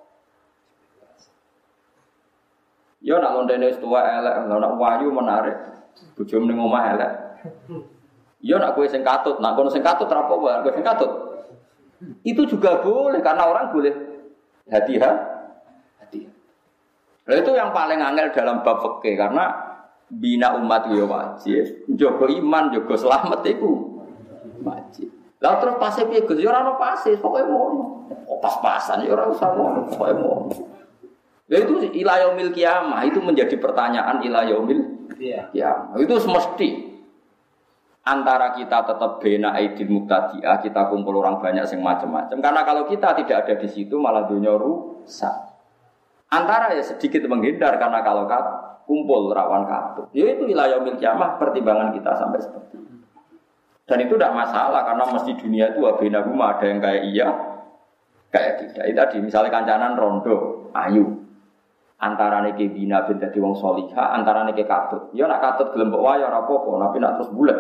S1: ya nak lontene wis tuwa elek, nak wayu menarik. Bojomu ning omah elek. Ya nak kowe sing katut, nak kono sing katut ora apa-apa, kowe sing katut. Itu juga boleh karena orang boleh hati-hati. Nah, itu yang paling angel dalam bab fikih karena bina umat ya wajib, jaga iman, jaga selamat itu wajib. Lah terus pasif piye Gus? Ya ora ono pasif, pokoke ngono. Pas-pasan ya ora usah ngono, pokoke ngono. Ya itu ila yaumil kiamah itu menjadi pertanyaan ila yaumil kiamah. Itu semesti antara kita tetap bena aidil muqtadi'ah, kita kumpul orang banyak sing macam-macam. Karena kalau kita tidak ada di situ malah dunia rusak. Antara ya sedikit menghindar karena kalau kumpul rawan katut. Ya itu ila yaumil kiamah pertimbangan kita sampai seperti itu. Dan itu tidak masalah karena mesti dunia itu wabena rumah ada yang kayak iya, kayak tidak. Itu tadi misalnya kancanan rondo, ayu. Antara niki bina bin dadi wong salihah, antara niki katut. Ya nak katut gelem mbok wae ora apa-apa, tapi nak terus bulet.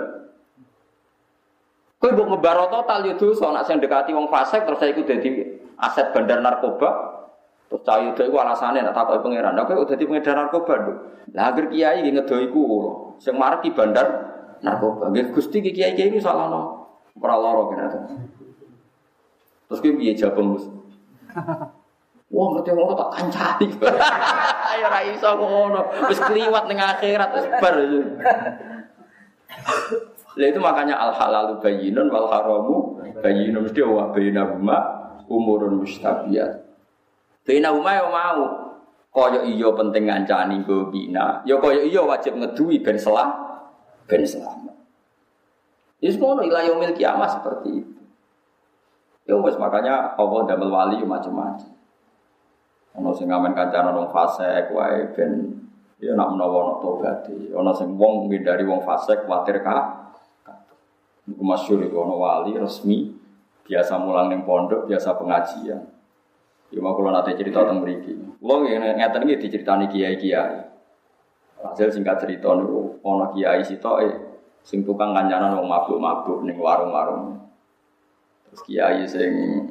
S1: Kowe mbok ngebaro total yo dosa, nak sing dekati wong fasik terus iku dadi aset bandar narkoba. Terus cah itu iku alasane nak takoki pangeran. Lah kowe dadi pengedar narkoba lho. Lah agar kiai nggih ngedo iku kula. Sing mareki bandar narkoba. Nggih Gusti kiai-kiai iki salahno. Ora lara kene to. Terus kowe piye jawab Gus? Wah, ngerti ngono tak kancani. Ayo ra iso ngono. Wis kliwat ning akhirat wis bar. Lah itu makanya al halalu bayyinun wal haramu bayyinun mesti wa bainahuma umurun mustabiat. Bainahuma yo mau kaya iya penting ngancani nggo bina. Ya kaya iya wajib ngeduwi ben selamat. Wis ngono ila yaumil kiamah seperti itu. Ya wis makanya Allah damel wali yo macam-macam. Ana sing ngamen kancanan wong fasik wae ben ya nak menawa ana tobaté. Ana sing wong ngindari wong fasik kuwatir iku masyhur iku ana wali resmi biasa mulang ning pondok, biasa pengajian. Ya mau kula nate cerita teng mriki. Kula ngeten iki diceritani kiai-kiai. Hasil singkat cerita niku ana kiai sitoke sing tukang kancanan wong mabuk-mabuk ning warung-warung. Terus kiai sing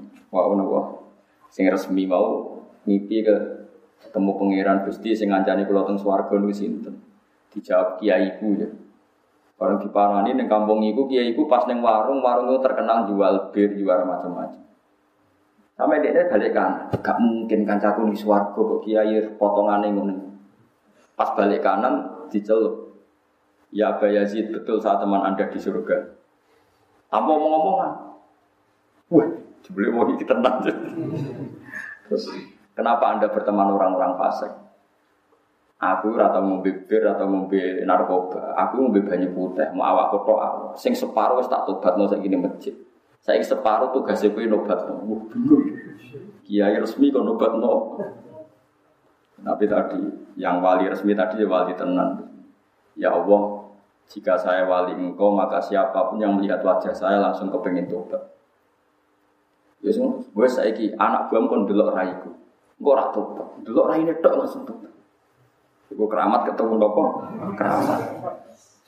S1: sing resmi mau mimpi ketemu pangeran Gusti sing ngancani kula teng swarga niku sinten? Dijawab kiaiku ya. Bareng diparani ning kampung iku kiaiku pas ning warung itu terkenal jual bir, jual macam-macam. Sampai dia balik kanan, gak mungkin kancaku ning swarga kok kiai potongane ngono. Pas balik kanan dicelup. Ya Aba Yazid, betul saat teman Anda di surga. Tanpa ngomong-ngomongan. Wah, jebule wong iki tenang. Terus kenapa Anda berteman orang-orang fasik? Aku ora tau ngombe bir atau ngombe narkoba. Aku ngombe banyu putih, mau awak kotok awak. Sing separuh wis tak tobatno saiki ning masjid. Saiki separuh tugase kowe nobatno. Bingung. Kiai resmi kok nobatno. Tapi tadi yang wali resmi tadi ya wali tenan. Ya Allah, jika saya wali Engkau maka siapapun yang melihat wajah saya langsung kepengin tobat. Ya wis saiki anak buam kon delok raiku. Engko ora tobat. Delok raine tok langsung tobat. Iku keramat ketemu napa? Keramat.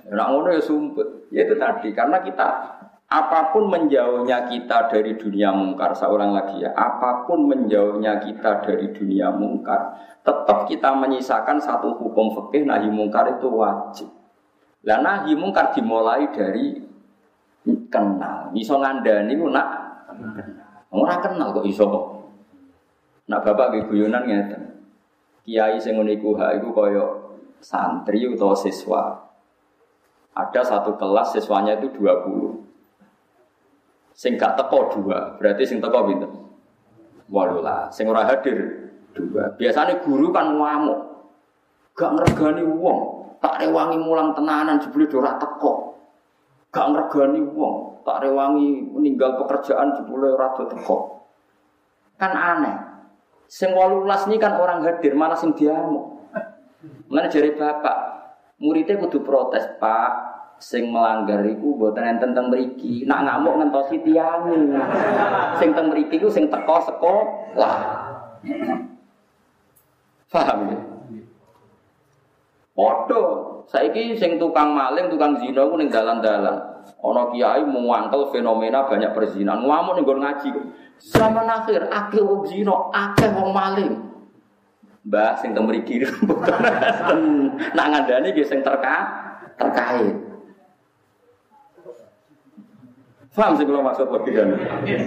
S1: Nek ngono ya sumpet. Ya itu tadi karena kita apapun menjauhnya kita dari dunia mungkar, seorang lagi ya, apapun menjauhnya kita dari dunia mungkar, tetap kita menyisakan satu hukum fikih nahi mungkar itu wajib. Lah nahi mungkar dimulai dari kenal. Iso ngandani ku nak ora kenal kok iso kok. Nak bapak nggih guyonan ngeten. Kiai sing ngene iku hak iku kaya santri utawa siswa. Ada satu kelas siswanya itu 20. Sing gak teko 2, berarti sing teko pinten? 18. Sing ora hadir 2. Biasane guru kan ngamuk. Gak ngregani wong, tak rewangi mulang tenanan jebule ora teko. Gak ngregani wong, tak rewangi meninggal pekerjaan jebule ora teko. Kan aneh. Sing 18 ini kan orang hadir, malah sing diamuk. Mulane jare bapak, muridnya kudu protes, Pak. Sing melanggar iku mboten enten teng mriki. Nak ngamuk ngentosi tiyang. Sing teng mriki iku sing teko sekolah. Paham ya? Padha, saiki sing tukang maling, tukang zina ku ning dalan-dalan. Ana kiai muangkel fenomena banyak perzinahan. Ngamuk ning nggon ngaji. Zaman akhir akeh wong zina, akeh wong maling. Mbah sing teng mriki nak ngandani nggih sing terkait. Paham sih kalau maksud logikanya.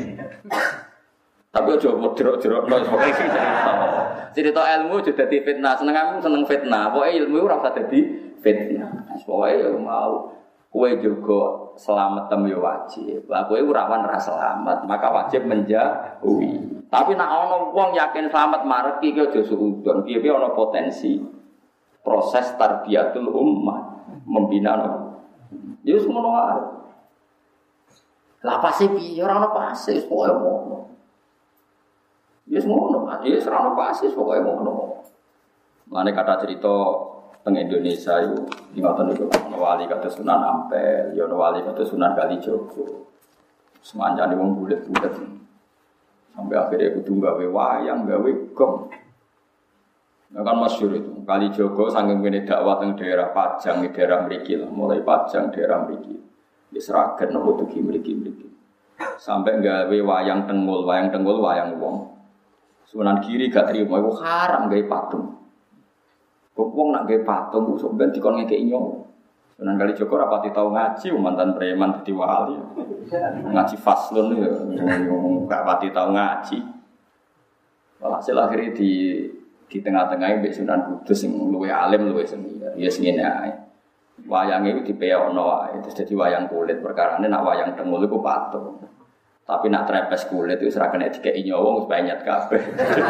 S1: Tapi aja jerok-jerok cerita ilmu juga dadi fitnah. Seneng fitnah. Pokoke ilmu ora usah dadi fitnah. Pokoke mau kowe juga selamat tem yo wajib. Lah kowe ora wan ra selamat, maka wajib menjauhi. Tapi nek ana wong yakin selamat mareki ki aja suudon. Piye-piye ana potensi proses tarbiyatul ummah, membina. Ya wis ngono wae. Lah pasti piye ora ana pasti pokoke ngono. Ya wis ngono, ya wis ora ana pasti pokoke ngono. Mane kata cerita teng Indonesia itu ngoten niku ana wali kados Sunan Ampel, ya ana wali kados Sunan Kalijogo. Semanjane wong bulet-bulet. Sampai akhirnya kudu gawe wayang, gawe gong. Nah kan masyhur itu. Kalijogo saking kene dakwah teng daerah Pajang, daerah mriki lah, mulai Pajang daerah mriki. Wis raget nopo tuki mriki-mriki. Sampai gawe wayang tengul wayang wong. Sunan Giri gak trimo iku haram gawe patung. Kok wong nak gawe patung kok ben dikon ngekeki nyawa. Sunan Kalijogo rapati tau ngaji mantan preman dadi wali. Ngaji faslun ya gak pati tau ngaji. Walhasil akhirnya di tengah-tengah mbek Sunan Kudus sing luwih alim luwih seni. Ya sing ngene ae. Wayange iki dipeyono wae terus dadi wayang kulit. Perkarane nak wayang tengul iku patung. Tapi nak trepes kulit itu ora kena dikeki nyawa wis banyak kabeh.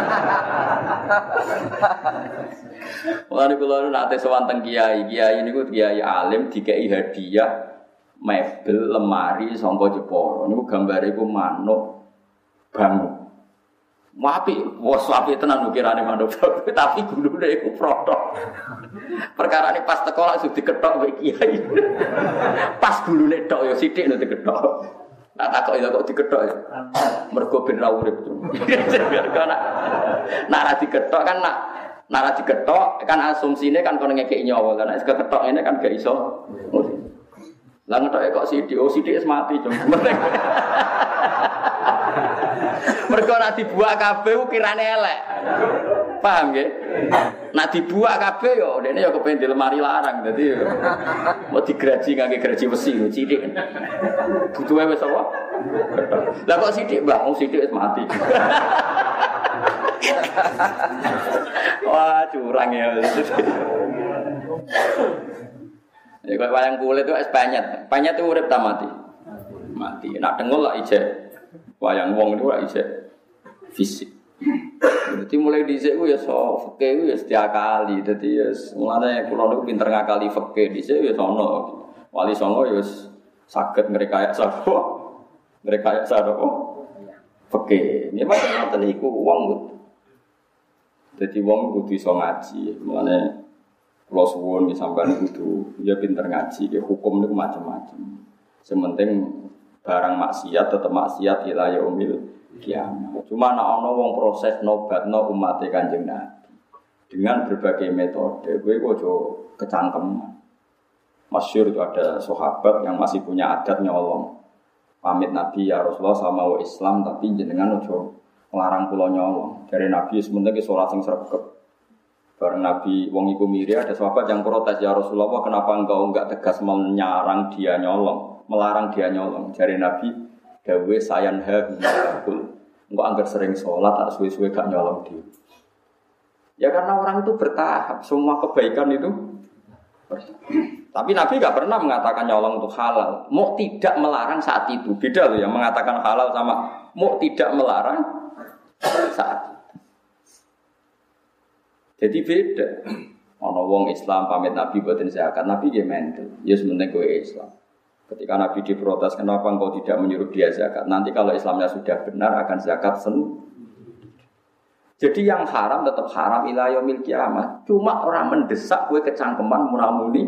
S1: Mulane kula nate sowan teng kiai niku kiai alim dikeki hadiah mebel lemari sangka Jepara. Niku gambare iku manuk bangun. Apik, wes apik tenan ukirane manuk. Tapi gulune iku protok. Perkarane pas teko langsung diketok mbek kiai. Pas gulune tok ya sithik nek diketok. Tak takok ya kok diketok ya. Mergo ben ra urip. Mergo nak ra diketok kan nak ra diketok kan asumsine kan kono ngekeki nyawa kan nek ketok ngene kan gak iso. Lah ngetoke kok sithik wis mati jom. Mergo nek dibuak kabeh ukirane elek. Paham nggih? Nek dibuak kabeh yo dene yo kepen di lemari larang dadi yo mau digraji ngangge graji besi yo sithik. Butuhe wis apa? Lah kok sithik, Mbah? Wong sithik wis mati. Wah, curang ya. Ya kok wayang kulit itu es panyet. Panyet itu urip ta mati? Mati. Nak dengul lah ijek. Wayang wong itu lah ijek fisik. Jadi mulai dhisik ku ya fikih ku ya diakali. Dadi ya mulane kula niku pinter ngakali fikih dhisik ya sono. Wali songo ya saged ngrekayasa sapa? Ngrekayasa apa? Fikih. Ya macam-macam iku wong. Dadi wong kudu iso ngaji. Mulane kula suwun ki sampeyan kudu ya pinter ngaji, ya hukum niku macam-macam. Sementing barang maksiat tetep maksiat ila yaumil kiamat. Cuma nek ana wong proses nobatno umat Kanjeng Nabi dengan berbagai metode, kowe aja kecangkeman. Masyhur itu ada sahabat yang masih punya adat nyolong. Pamit Nabi ya Rasulullah sama wa Islam tapi jenengan ojo nglarang kula nyolong. Dari Nabi sementing ki salat sing sregep. Bareng Nabi wong iku miri ada sahabat yang protes ya Rasulullah kenapa engkau enggak tegas melarang dia nyolong. Dari Nabi dawe sayanha binakul. Engkau anggar sering sholat, tak suwe-suwe gak nyolong dia. Ya karena orang itu bertahap, semua kebaikan itu. Tapi Nabi gak pernah mengatakan nyolong itu halal. Mau tidak melarang saat itu. Beda loh yang mengatakan halal sama mau tidak melarang saat itu. Jadi beda. Ono wong Islam pamit Nabi buatin zakat, Nabi dia mental. Ya sebenarnya gue Islam. Ketika Nabi diprotes, kenapa engkau tidak menyuruh dia zakat? Nanti kalau Islamnya sudah benar akan zakat Jadi yang haram tetap haram ila yaumil kiamah. Cuma orang mendesak gue kecangkeman munamuni.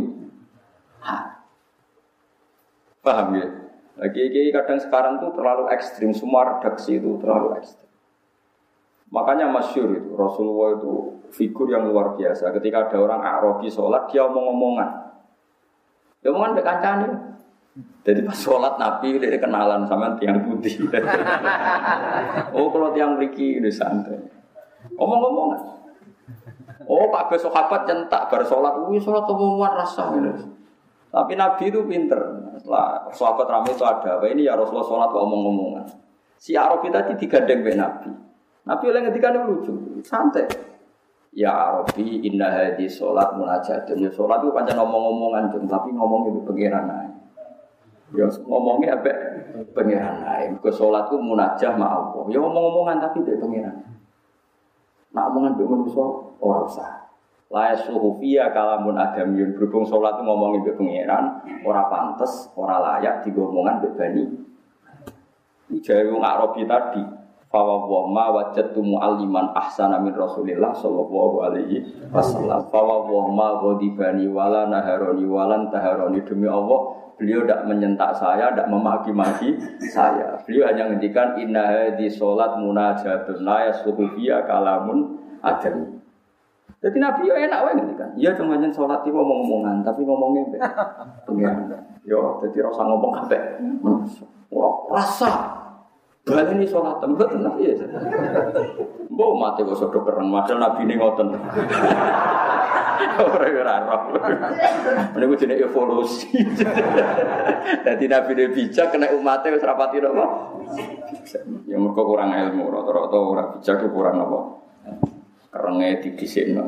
S1: Paham ya? Lagi kadang sekarang tuh terlalu ekstrim, semua redaksi itu terlalu ekstrim. Makanya masyhur itu Rasulullah itu figur yang luar biasa. Ketika ada orang Arabi sholat, dia omong-omongan. Dia omongan be kancane. Jadi pas sholat Nabi dia kenalan sama tiang putih. Oh kalau tiang mriki udah santai. Omong-omongan. Oh Pak sahabat centak bar sholat, sholat omongan rasa gitu. Tapi Nabi itu pinter. Setelah sahabat ramai itu ada apa ini ya Rasulullah sholat omong-omongan. Si Arabi tadi digandeng be Nabi. Nabi oleh ngendikan lucu, santai. Ya Arabi inna hadhi sholat munajatun. Ya sholat itu pancen omong-omongan tapi ngomongnya itu pengiran ae. Ya ngomongnya apa? Pengiran ae. Ke sholat itu munajah ma Allah. Ya ngomong-omongan tapi dia pengiran. Nak omongan mbek manusa ora usah. La yasuhu fiya kalamun adamiyun berhubung salat ngomongin mbek pangeran ora pantes, ora layak digomongan mbek bani. Iki jae wong Arabi tadi. Fa wa ma wajadtu mu'alliman ahsana min Rasulillah sallallahu alaihi wasallam. Fa wa ma ghadibani wala naharoni walan taharoni demi Allah, beliau tidak menyentak saya, tidak memaki-maki saya. Beliau hanya ngendikan inna hadhi sholat munajatun la yasuhu fiya kalamun adami. Jadi Nabi yo enak wae ngendikan. Iya cuma nyen sholat iki ngomong-ngomongan, tapi ngomongnya pengen. Yo dadi ora usah ngomong kabeh. Wah, rasa baleni sholat tempat Nabi ya. Mbok mate kok sodok kereng madal Nabi ne ngoten. Ora roh. Menika jenenge evolusi. Dadi Nabi ne bijak kena umate wis rapati apa? Ya mergo kurang ilmu, rata-rata ora bijak kurang apa? Kerenge didhisikno.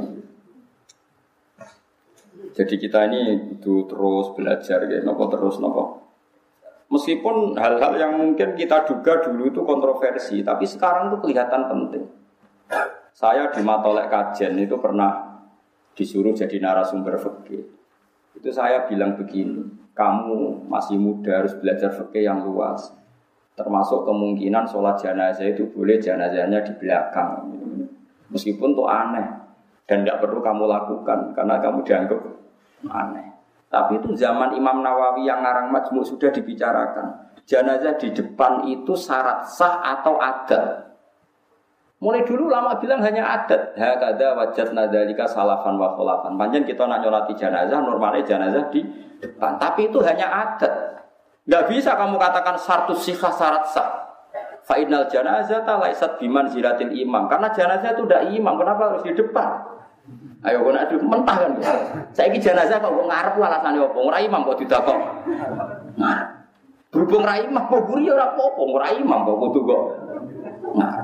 S1: Jadi kita ini itu terus belajar ya, napa terus napa. Meskipun hal-hal yang mungkin kita duga dulu itu kontroversi, tapi sekarang itu kelihatan penting. Saya di Matolek Kajen itu pernah disuruh jadi narasumber fikih. Itu saya bilang begini, kamu masih muda harus belajar fikih yang luas. Termasuk kemungkinan sholat jenazah itu boleh jenazahnya di belakang. Meskipun itu aneh dan tidak perlu kamu lakukan karena kamu dianggap aneh. Tapi itu zaman Imam Nawawi yang ngarang Majmu' sudah dibicarakan. Jenazah di depan itu syarat sah atau adat. Mulai dulu lama bilang hanya adat. Hakada wajadna dzalika salafan wa khulafan. Panjen kita nak nyolati jenazah, normalnya jenazah di depan. Tapi itu hanya adat. Enggak bisa kamu katakan syartus sihah syarat sah. Fa innal janazata laisat biman ziratil imam. Karena jenazah itu udah imam, kenapa harus di depan? Ayo kok nek mentah kan. Saiki jenazah kok ngarep alasane opo? Ora imam kok didakok. Nah. Berhubung ra imam kok buri ora apa-apa, ora imam kok kudu kok. Nah.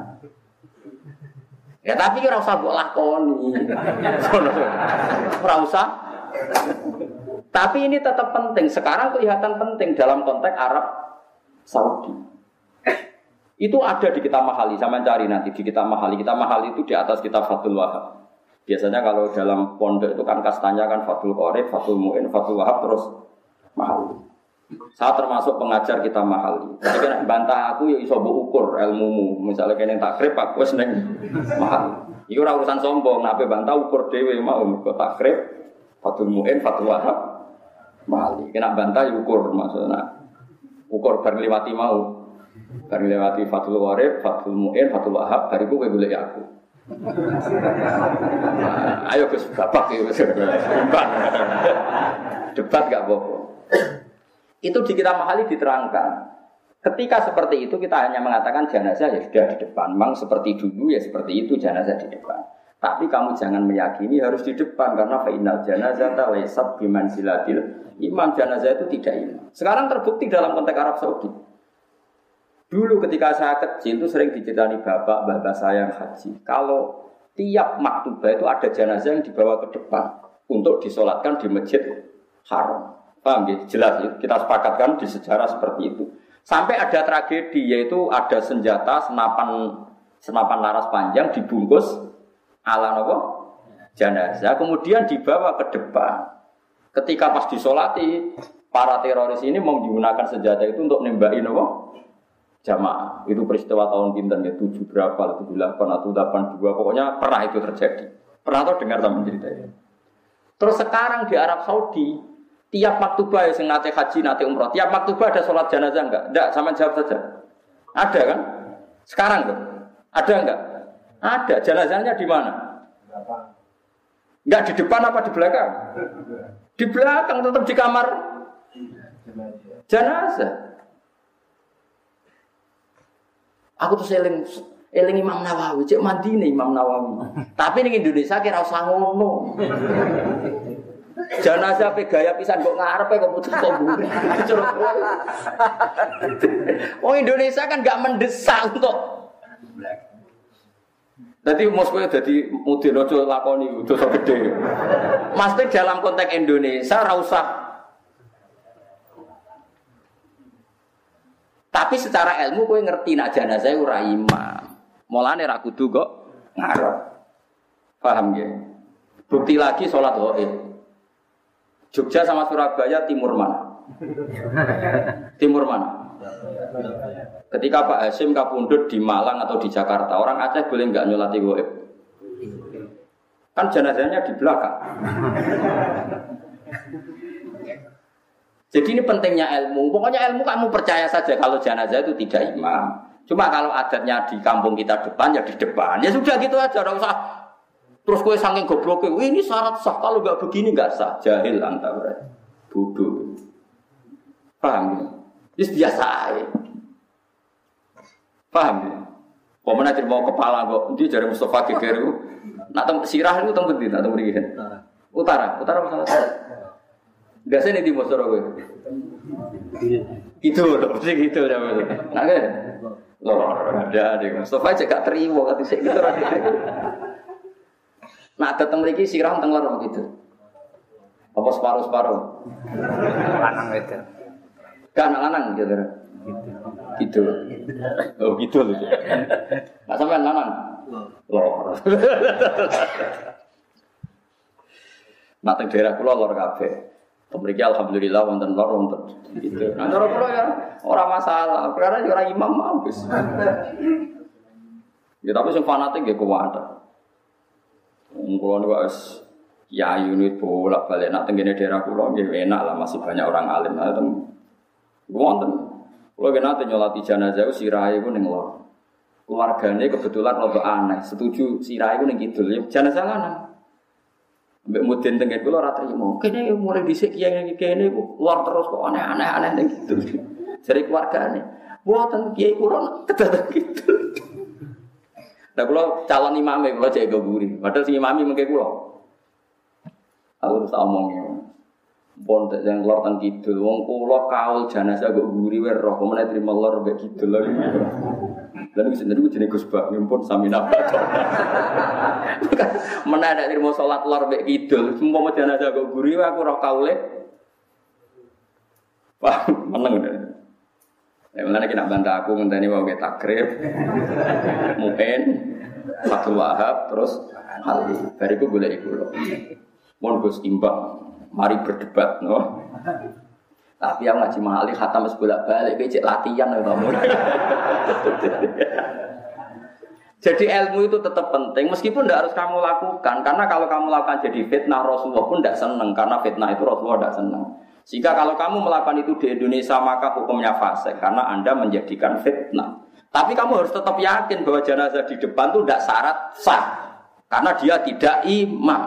S1: Ya tapi ora usah mbok lakoni. Ora usah. Tapi ini tetap penting. Sekarang kelihatan penting dalam konteks Arab Saudi. Itu ada di kitab Mahali. Saya mencari nanti di kitab Mahali. Kitab Mahali itu di atas kitab Fathul Wahab. Biasanya kalau dalam pondok itu kan kastanya kan Fathul Qorib, Fathul Mu'in, Fathul Wahab terus Mahali. Saya termasuk pengajar kitab Mahali. Jadi kan bantah aku ya iso mbok ukur ilmumu. Misalnya kene takrib aku wis ning Mahali. Iki ora urusan sombong, nek bantah ukur dhewe mau kok takrib, Fathul Mu'in, Fathul Wahab, Mahali. Kena bantah ya ukur maksudnya. Ukur bar liwati mau. Bar liwati Fathul Qorib, Fathul Mu'in, Fathul Wahab, bariku kowe golek aku. Ayo Gus babak ya, debat gak apa-apa. Itu di kitab Mahali diterangkan. Ketika seperti itu kita hanya mengatakan jenazah ya sudah di depan. Memang seperti dulu ya seperti itu jenazah di depan. Tapi kamu jangan meyakini harus di depan karena fainal janazata laysat bimanzilatil imam. Jenazah itu tidak imam. Sekarang terbukti dalam konteks Arab Saudi. Dulu ketika saya kecil itu sering diceritani bapak saya yang haji. Kalau tiap maktubah itu ada jenazah yang dibawa ke depan untuk disolatkan di masjid Haram. Paham ya? Jelas ya? Kita sepakatkan di sejarah seperti itu. Sampai ada tragedi yaitu ada senjata senapan laras panjang dibungkus ala apa? Jenazah kemudian dibawa ke depan. Ketika pas disolati para teroris ini mau menggunakan senjata itu untuk nembakin apa? Jamaah. Itu peristiwa tahun pinten ya 7 berapa 78 atau 82 pokoknya pernah itu terjadi. Pernah tahu dengar sama ceritanya. Terus sekarang di Arab Saudi tiap maktubah yang nate haji, nate umroh, tiap maktubah ada sholat jenazah enggak? Enggak, sama jawab saja. Ada kan? Sekarang tuh. Ada enggak? Ada. Jenazahnya di mana? Enggak di depan apa di belakang? Di belakang, tetap di kamar jenazah. Aku tuh eling Imam Nawawi, cek mandi nih Imam Nawawi. Tapi ning Indonesia kira usah ngono. Jenazah pe gaya pisan kok ngarepe kok putus kok mburi. Oh Indonesia kan enggak mendesak untuk. Dadi Moskow dadi mudin aja lakoni dosa gede. Mesti dalam konteks Indonesia ora usah. Tapi secara ilmu kowe ngerti nek jenazah ora imam. Mulane ra kudu kok ngarep. Paham nggih? Bukti lagi salat ghaib. Jogja sama Surabaya timur mana? Timur mana? Ketika Pak Hasyim kapundhut di Malang atau di Jakarta, orang Aceh boleh enggak nyolati ghaib? Kan jenazahnya di belakang. Jadi ini pentingnya ilmu. Pokoknya ilmu kamu percaya saja kalau jenazah itu tidak imam. Cuma kalau adatnya di kampung kita depan ya di depan. Ya sudah gitu aja, enggak usah. Terus kowe saking gobloknya, ini syarat sah, kalau enggak begini enggak sah. Jahil anta berarti. Bodoh. Paham ya? Ini biasa aja. Paham ya? Pemenang jadi mau kepala kok, dia jari Mustafa geger itu. Nak sirah itu tempat di, nak tempat di Utara masalah. Biasanya di timur sore gue. Gitu loh, mesti gitu ya betul. Nah kan? Loh, ada deh. Mustafa aja gak terima kata saya gitu. Nah, datang lagi sirah teng lorong gitu. Apa separuh-separuh? Lanang itu. Kan lanang gitu. Gitu. Oh, gitu loh. Enggak sampean lanang. Lor. Nah, teng daerah kula lor kabeh. Mriki alhamdulillah wonten lor wonten gitu. Nah, cara kula ya ora masalah. Karena ora imam mampus. Ya tapi sing fanatik nggih kuwat. Kulo niku wis yayu niku bolak-balik nak tengene daerah kulo nggih enak lah masih banyak orang alim. Nah, wonten. Kulo nate nyolati jenazah sirahe iku ning lor. Keluargane kebetulan rada aneh, setuju sirahe iku ning kidul. Ya jenazah lanang. Mbek mudin tengene kulo ora trimo. Kene mulai dhisik kiai kene iku lor terus kok aneh-aneh ning kidul. Jare keluargane, "Mboten kiai kulo kedadak kidul." Nah, kalau calon imamnya, kalau jaga gurih. Padahal si imami mungkin kalau aku harus omongnya. Pondok yang keluar tentang kidul. Wong kulo kaul jenazah gak gurih. Roh, kemudian terima lor gak kidul lagi. Dan itu sendiri jenis Gus Bak. Pun sami nafas. Mana ada terima sholat lor gak kidul. Semua jenazah gak gurih. Aku roh kaulnya. Wah, menang udah. Ya, mulanya kita bantah aku ngenteni mau kita takrib, Mu'in, Fathul Wahab, terus Hali. Bariku boleh ikut loh. Mohon Gus imbang, mari berdebat, no. Tapi yang ngaji mahali khatam sebolak balik, becek latihan ya kamu. Jadi ilmu itu tetap penting, meskipun tidak harus kamu lakukan, karena kalau kamu lakukan jadi fitnah Rasulullah pun tidak senang, karena fitnah itu Rasulullah tidak senang. Sehingga kalau kamu melakukan itu di Indonesia maka hukumnya fasik karena Anda menjadikan fitnah. Tapi kamu harus tetap yakin bahwa jenazah di depan itu tidak syarat sah. Karena dia tidak imam.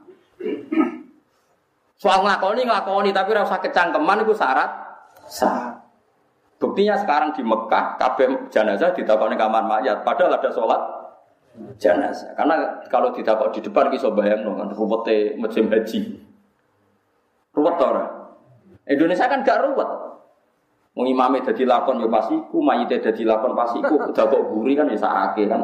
S1: Soal ngelakoni tapi rasa kecangkeman itu syarat sah. Buktinya sekarang di Mekah kabeh jenazah ditakoni kamar mayat padahal ada sholat jenazah. Karena kalau ditakok di depan iso bayangno kan ruwete musim haji. Ruwet ora? Indonesia kan gak ruwet. Wong imame dadi lakon ya pas iku, mayite dadi lakon pas iku, udah kok guri kan ya sakake kan.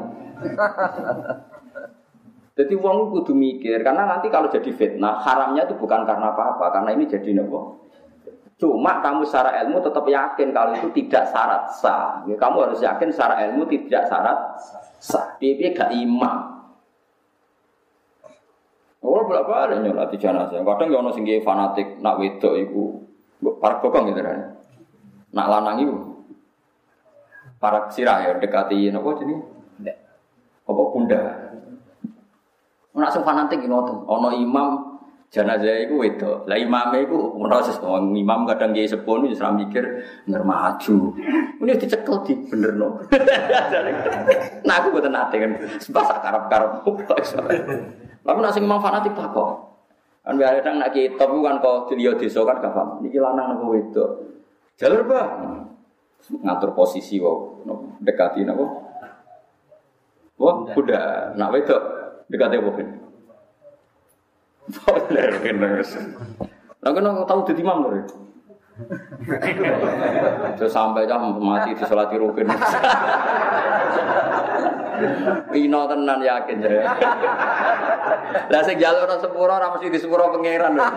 S1: Jadi wong kudu mikir karena nanti kalau jadi fitnah haramnya itu bukan karena apa-apa, karena ini jadi nopo. Cuma kamu secara ilmu tetap yakin kalau itu tidak syarat sah. Ya, kamu harus yakin secara ilmu tidak syarat sah. Piye gak imam. Ora berapa ada nyolati jenazah. Kadang ya ono sing fanatik nak wedok iku para bokong gitu kan. Nak lanang itu para sirah ya dekati apa jadi apa bunda nak sing fanatik ngoten ana imam jenazah iku wedok lah imame iku proses imam kadang kiai sepuh wis ra mikir ngar maju ini dicekel di benerno nah aku boten nate kan sebab sak karep-karep tapi nak sing imam fanatik tak kok kan kadang nak kitab kan kok diliyo desa kan gak paham niki lanang napa wedok jalur bah ngatur posisi wae dekati napa wah kuda nak wedok dekati apa ben boleh kenes lha kena tau dadi imam lho terus sampai jam mati di salati rukun ino tenan yakin ya lah sing jalur sepuro ora mesti di sepuro pangeran lho.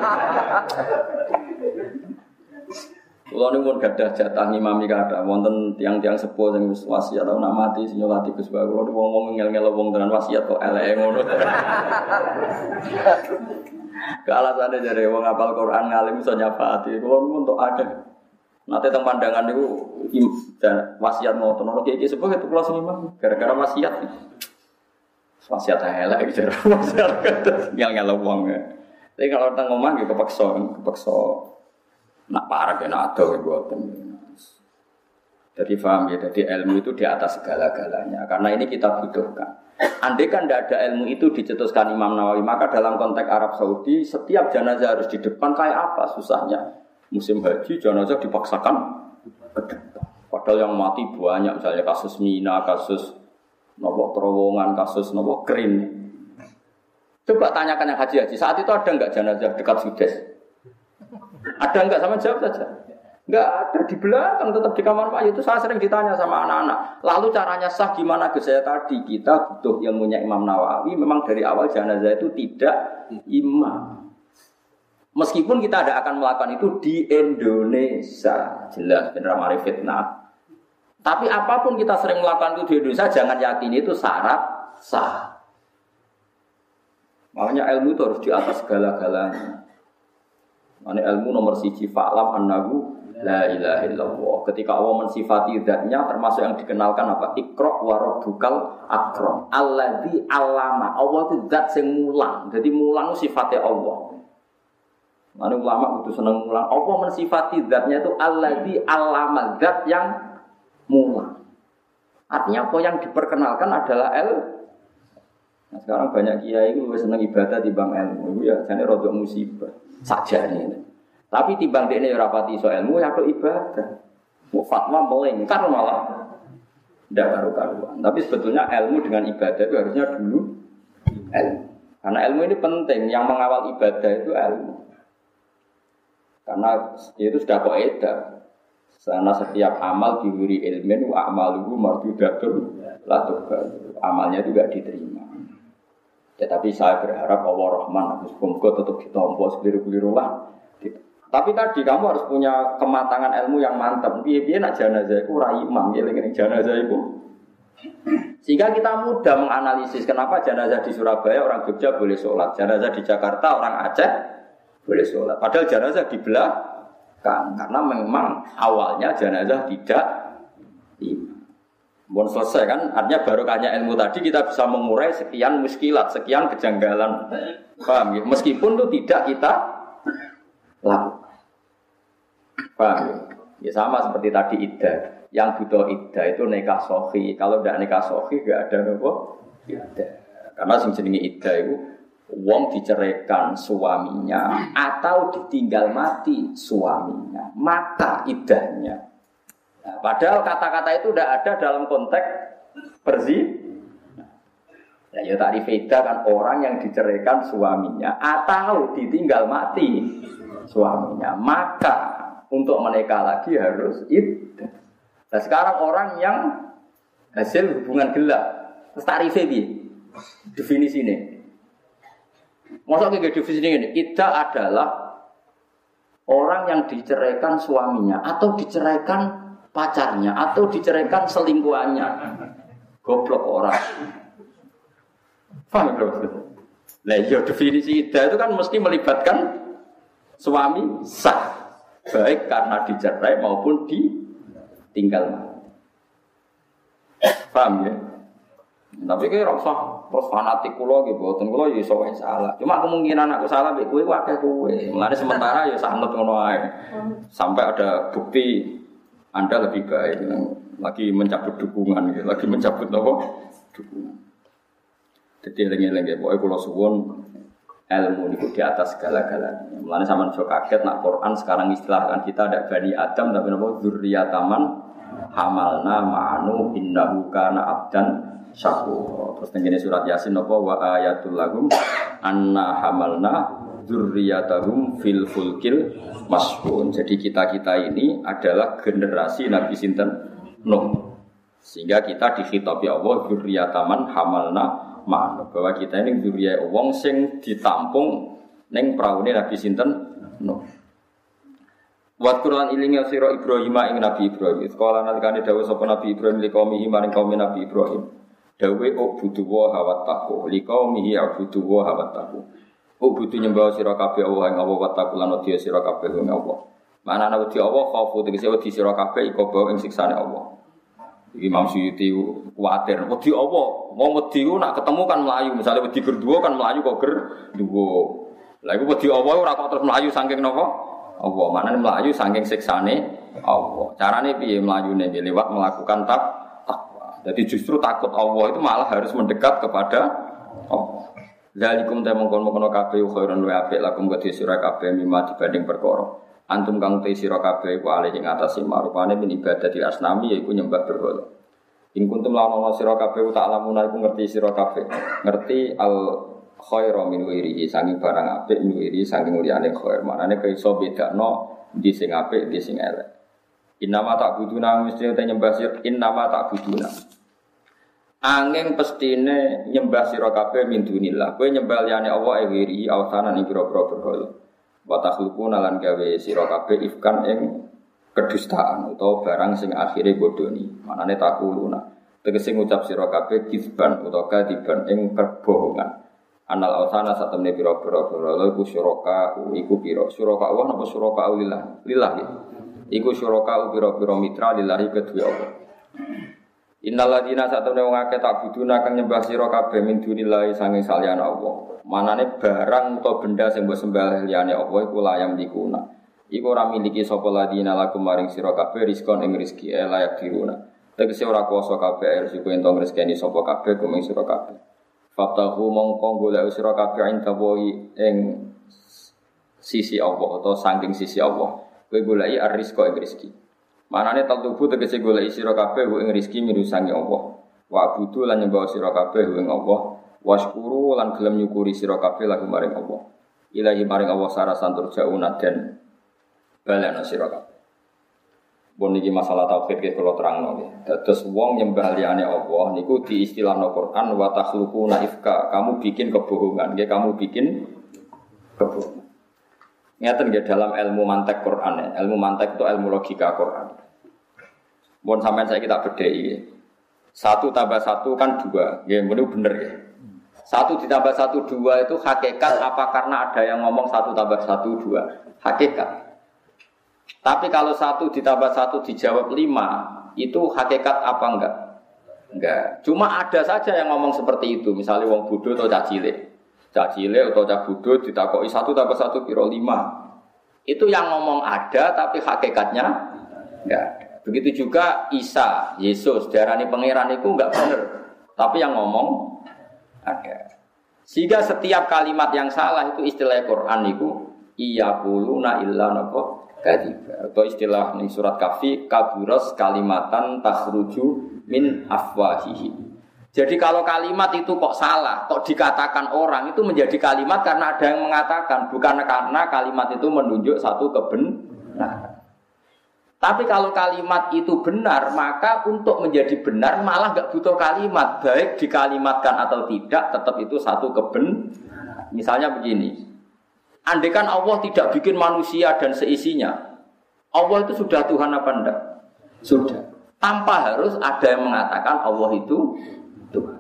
S1: Kulo niku pun gadah jatah ngimami kathah wonten tiyang-tiyang sepuh sing wis wasiat tau nak mati sing nyolati Gus Ba. Kulo wong-wong ngel-ngel wong tenan wasiat kok eleke ngono. Kalasane jare wong hafal Quran ngalim iso nyafaati. Kulo niku entuk akeh. Nate teng pandangan niku wasiat ngoten ora iki sepuh itu kulo sing imam gara-gara wasiat. Wasiat elek jare wasiat ngel-ngel wong. Tapi kalau teng omah nggih kepeksa. Nak parah ya nak ada buatan. Jadi paham ya, jadi ilmu itu di atas segala-galanya. Karena ini kita butuhkan. Andai kan tidak ada ilmu itu dicetuskan Imam Nawawi, maka dalam konteks Arab Saudi setiap jenazah harus di depan kayak apa susahnya. Musim haji jenazah dipaksakan ke depan. Padahal yang mati banyak, misalnya kasus Mina, kasus nopo terowongan, kasus nopo kering. Coba tanyakan yang haji saat itu ada enggak jenazah dekat Sudes? Ada enggak sama jawab saja. Enggak ada di belakang tetap di kamar mayat itu saya sering ditanya sama anak-anak. Lalu caranya sah gimana ke saya tadi kita butuh ilmunya Imam Nawawi. Memang dari awal jenazah itu tidak imam. Meskipun kita tidak akan melakukan itu di Indonesia jelas benar mari fitnah. Tapi apapun kita sering melakukan itu di Indonesia jangan yakini itu syarat sah. Makanya ilmu itu harus di atas segala-galanya. Ini ilmu nomor 1 fa'lam annahu la ilaha illallah. Ketika Allah mensifati zatnya termasuk yang dikenalkan apa? Iqra wa rabbukal akram. Alladzi 'allama. Allah itu zat sing mulang. Jadi mulang itu sifatnya Allah. Mana ulama itu seneng mulang. Allah mensifati zatnya itu alladzi 'allama, zat yang mulang. Artinya apa yang diperkenalkan adalah Nah, sekarang banyak kiai itu lebih senang ibadah timbang ilmu. Itu ya jane rodok musibah. Sajane. Tapi timbang dekne ora pati iso ilmu ya kok ibadah. Mau fatwa melingkar malah ndak karu-karuan. Tapi sebetulnya ilmu dengan ibadah itu harusnya dulu ilmu. Karena ilmu ini penting, yang mengawal ibadah itu ilmu. Karena itu sudah kaidah. Karena setiap amal diwiri ilmin wa amaluhu mardudatun la tuqbal. Amalnya juga diterima. Tetapi saya berharap Allah Rahman, semoga tetap ditompo sekeliru-keliru lah. Tapi tadi kamu harus punya kematangan ilmu yang mantap. Piye-piye nak jenazah itu ora imam, ngeling jenazah itu. Sehingga kita mudah menganalisis kenapa jenazah di Surabaya orang Jogja boleh sholat, jenazah di Jakarta orang Aceh boleh sholat. Padahal jenazah di belakang, karena memang awalnya jenazah tidak imam. Bon selesai kan, artinya barokahnya ilmu tadi kita bisa mengurai sekian muskilat, sekian kejanggalan. Paham ya? Meskipun itu tidak kita lakukan. Paham ya? Ya sama seperti tadi iddah. Yang butuh iddah itu nikah sahih. Kalau tidak nikah sahih enggak ada apa? Iddah. Karena sing jenenge iddah itu wong diceraikan suaminya atau ditinggal mati suaminya, maka iddahnya. Nah, padahal kata-kata itu tidak ada dalam konteks nah, ya tarif iddah kan orang yang diceraikan suaminya atau ditinggal mati suaminya, maka untuk menikah lagi harus iddah. Nah, sekarang orang yang hasil hubungan gelap, terus tarifnya definisi ini. Maksudnya kayak definisi ini, iddah adalah orang yang diceraikan suaminya atau diceraikan pacarnya atau diceraikan selingkuhannya. Goblok orang. Paham belum? Nah, ya definisi iddah itu kan mesti melibatkan suami sah, baik karena dicerai maupun ditinggal. Paham ya? Tapi kira usah terus fanatik kula nggih mboten, kula ya iso wae salah. Cuma kemungkinan aku salah mek kowe ku akeh kowe. Mulane sementara ya sanut ngono ae. Sampai ada bukti Anda lebih baik, lagi mencabut dukungan, lagi mencabut apa? Dukungan. Jadi eling-eling ya, pokoknya kula suwun ilmu niku di atas segala-galanya. Mulane sampean aja kaget nak Quran sekarang istilahkan kita ada Bani Adam tapi napa dzurriyyataman hamalna ma'anu innahu kana abdan syakur. Terus tengene surat Yasin napa wa ayatul lahum anna hamalna dzurriyyatahum fil fulkil mashhun. Jadi kita-kita ini adalah generasi Nabi sinten Nuh. Sehingga kita dikhitabi Allah dzurriyyataman hamalna ma'anu, bahwa kita ini dzurriyyah wong sing ditampung ning praune Nabi sinten Nuh. Wa Qur'an ilinga sira Ibrahim ing Nabi Ibrahim. Sekolah nalikane dawuh sapa Nabi Ibrahim liqaumihi maring kaum Nabi Ibrahim. Dawe ubudu wa hawattaku liqaumihi abudu wa hawattaku. Ubudu nyembah sira kabeh Allah ing Allah wattaku lan wedi sira kabeh ing Allah. Manane wedi Allah khaufu tegese wedi sira kabeh iku bae ing siksane Allah. Iki Imam Suyuti kuwatir wedi Allah. Wong wedi ku nak ketemu kan mlayu, misale wedi gerduwo kan mlayu kok gerduwo. Lah iku wedi Allah ora kok terus mlayu saking napa? Allah. Manane mlayu saking siksane Allah. Carane piye mlayune liwat melakukan takwa. Jadi justru takut Allah itu malah harus mendekat kepada Allah. Zalikum ta mongkon-mongkon kabeh khairun wa apik lakum kedhe sira kabeh mimma dibanding perkara. Antum kang te sira kabeh ku alih ing atase marupane min ibadatil asnami yaiku nyembah berhala. Ing kuntum lamun sira kabeh tak lamuna iku ngerti sira kabeh. Ngerti al khairu min wirihi sangi barang apik min wirihi sangi liyane khair. Manane kaiso bedakno ndi sing apik ndi sing elek. Innama ta'buduna mesti te nyembah sira innama ta'buduna. Angin pestine nyembah sira kabeh min dunillah. Kowe nyembah liyane Allah wirihi awsanan ing pira-pira berhala. Wa takhluquna lan gawe sira kabeh ifkan ing kedustaan utawa barang sing akhire bodoni. Manane takuluna. Tegese ngucap sira kabeh kizban utawa kadiban ing kebohongan. Anal awsana satemene pira-pira berhala iku syuraka iku pira. Syuraka Allah napa syuraka lillah? Lillah ya. Iku syuraka pira-pira mitra lillahi kedue Allah. Innal ladina satemene wong akeh tak buduna kang nyembah sira kabeh min dunillahi sange saliyane Allah. Manane barang utawa benda sing mbok sembah liyane Allah iku layam dikuna. Iku ora miliki sapa ladina lakum maring sira kabeh rizqon ing rezeki layak diruna. Tegese ora kuwasa kabeh rezeki entong rezekine sapa kabeh kuming sira kabeh. Fatahu mongko golek sira kabeh intawahi ing sisi Allah utawa saking sisi Allah. Kowe goleki ar-rizqa ing rezeki. Manane taltubu tegese golek sira kabeh ing rezeki mirusangi Allah. Wa abudu lan nyembah sira kabeh ing Allah. Washkuru lan gelem nyukuri sira kabeh lagu maring Allah. Ilahi maring Allah sarasan turjauna den balana sira kabeh. Bon iki masalah tauhid iki kula terangno nggih. Dados wong nyembah liyane Allah niku diistilahno Quran wa takhluquna ifka. Kamu bikin kebohongan, nggih kamu bikin kebohongan. Ngeten nggih dalam ilmu mantek Quran ya. Ilmu mantek itu ilmu logika Quran. Mun sampean saiki tak bedheki. 1 tambah 1 kan 2. Nggih, mene bener ya. 1 ditambah 1 2 itu hakikat apa karena ada yang ngomong 1 tambah 1 2. Hakikat. Tapi kalau 1 ditambah 1 dijawab 5, itu hakikat apa enggak? Enggak. Cuma ada saja yang ngomong seperti itu. Misalnya wong bodoh atau cah cilik. Cah cilik atau cah bodoh ditakoki 1 tambah 1 piro 5. Itu yang ngomong ada tapi hakikatnya enggak ada. Begitu juga Isa, Yesus, diarani pangeran itu enggak benar. Tapi yang ngomong ada. Sehingga setiap kalimat yang salah itu istilah Quran itu iyaquluna illa napa kadziba. Atau istilah ning surat Kahfi kaburas kalimatan takhruju min afwahihi. Jadi kalau kalimat itu kok salah, kok dikatakan orang itu menjadi kalimat karena ada yang mengatakan, bukan karena kalimat itu menunjuk satu kebenaran. Tapi kalau kalimat itu benar, maka untuk menjadi benar malah nggak butuh kalimat, baik dikalimatkan atau tidak, tetap itu satu kebenaran. Misalnya begini, andaikan Allah tidak bikin manusia dan seisinya, Allah itu sudah Tuhan apa enggak? Sudah. Tanpa harus ada yang mengatakan Allah itu Tuhan.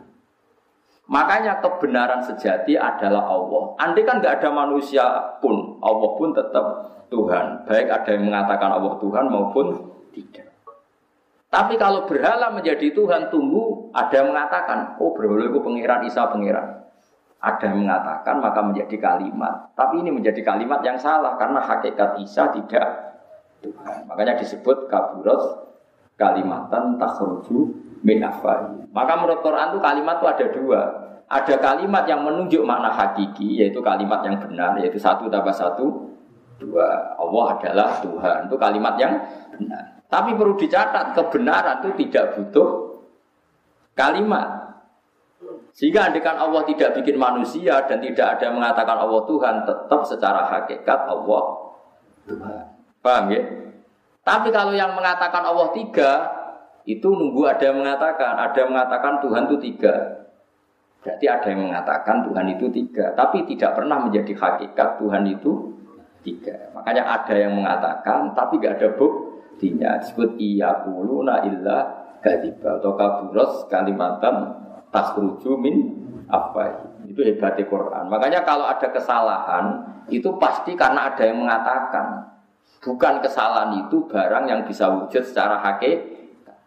S1: Makanya kebenaran sejati adalah Allah. Andai kan nggak ada manusia pun, Allah pun tetap Tuhan. Baik ada yang mengatakan Allah Tuhan maupun tidak. Tapi kalau berhala menjadi Tuhan, tunggu ada yang mengatakan, oh berhala itu pengiran, Isa pengiran. Ada yang mengatakan maka menjadi kalimat. Tapi ini menjadi kalimat yang salah karena hakikat Isa tidak Tuhan. Makanya disebut kaburat kalimatan takhruju min afwahi. Maka menurut Quran itu kalimat itu ada dua. Ada kalimat yang menunjuk makna hakiki, yaitu kalimat yang benar, yaitu 1 tambah 1 2. Allah adalah Tuhan. Itu kalimat yang benar. Tapi perlu dicatat, kebenaran itu tidak butuh kalimat. Sehingga andaikan Allah tidak bikin manusia dan tidak ada yang mengatakan Allah Tuhan, tetap secara hakikat Allah Tuhan. Paham ya? Tapi kalau yang mengatakan Allah 3, itu nunggu ada yang mengatakan Tuhan itu 3. Berarti ada yang mengatakan Tuhan itu 3, tapi tidak pernah menjadi hakikat Tuhan itu 3. Makanya ada yang mengatakan, tapi tidak ada buktinya. Disebut iyaquluna illa kadziba atau kaburas kalimatan takhruju min afwahi. Itu hebatnya Quran. Makanya kalau ada kesalahan, itu pasti karena ada yang mengatakan. Bukan kesalahan itu barang yang bisa wujud secara hakikat.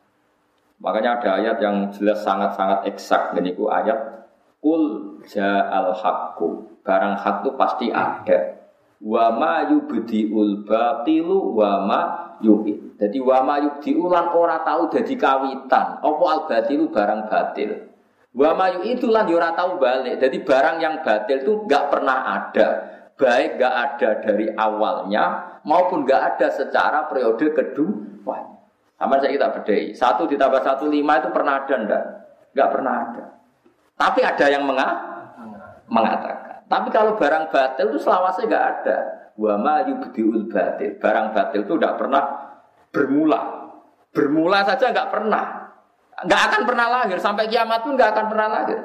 S1: Makanya ada ayat yang jelas sangat-sangat eksak. Ini ku ayat Qul ja'al haqqu. Barang hak itu pasti ada. Wa ma yubdi'ul batilu wa ma yu'id. Jadi wa ma yubdi'u lan ora tahu dadi kawitan. Apa al batilu barang batil. Wa ma yu'id lan ora tahu balik. Jadi barang yang batil itu enggak pernah ada. Baik enggak ada dari awalnya maupun enggak ada secara periode kedua. Sama saya kita bedai. 1 ditambah 1 5 itu pernah ada enggak? Enggak pernah ada. Tapi ada yang mengatakan. Tapi kalau barang batil itu selawasnya enggak ada. Wa ma yubdiul batil. Barang batil itu enggak pernah bermula. Bermula saja enggak pernah. Enggak akan pernah lahir sampai kiamat pun enggak akan pernah lahir.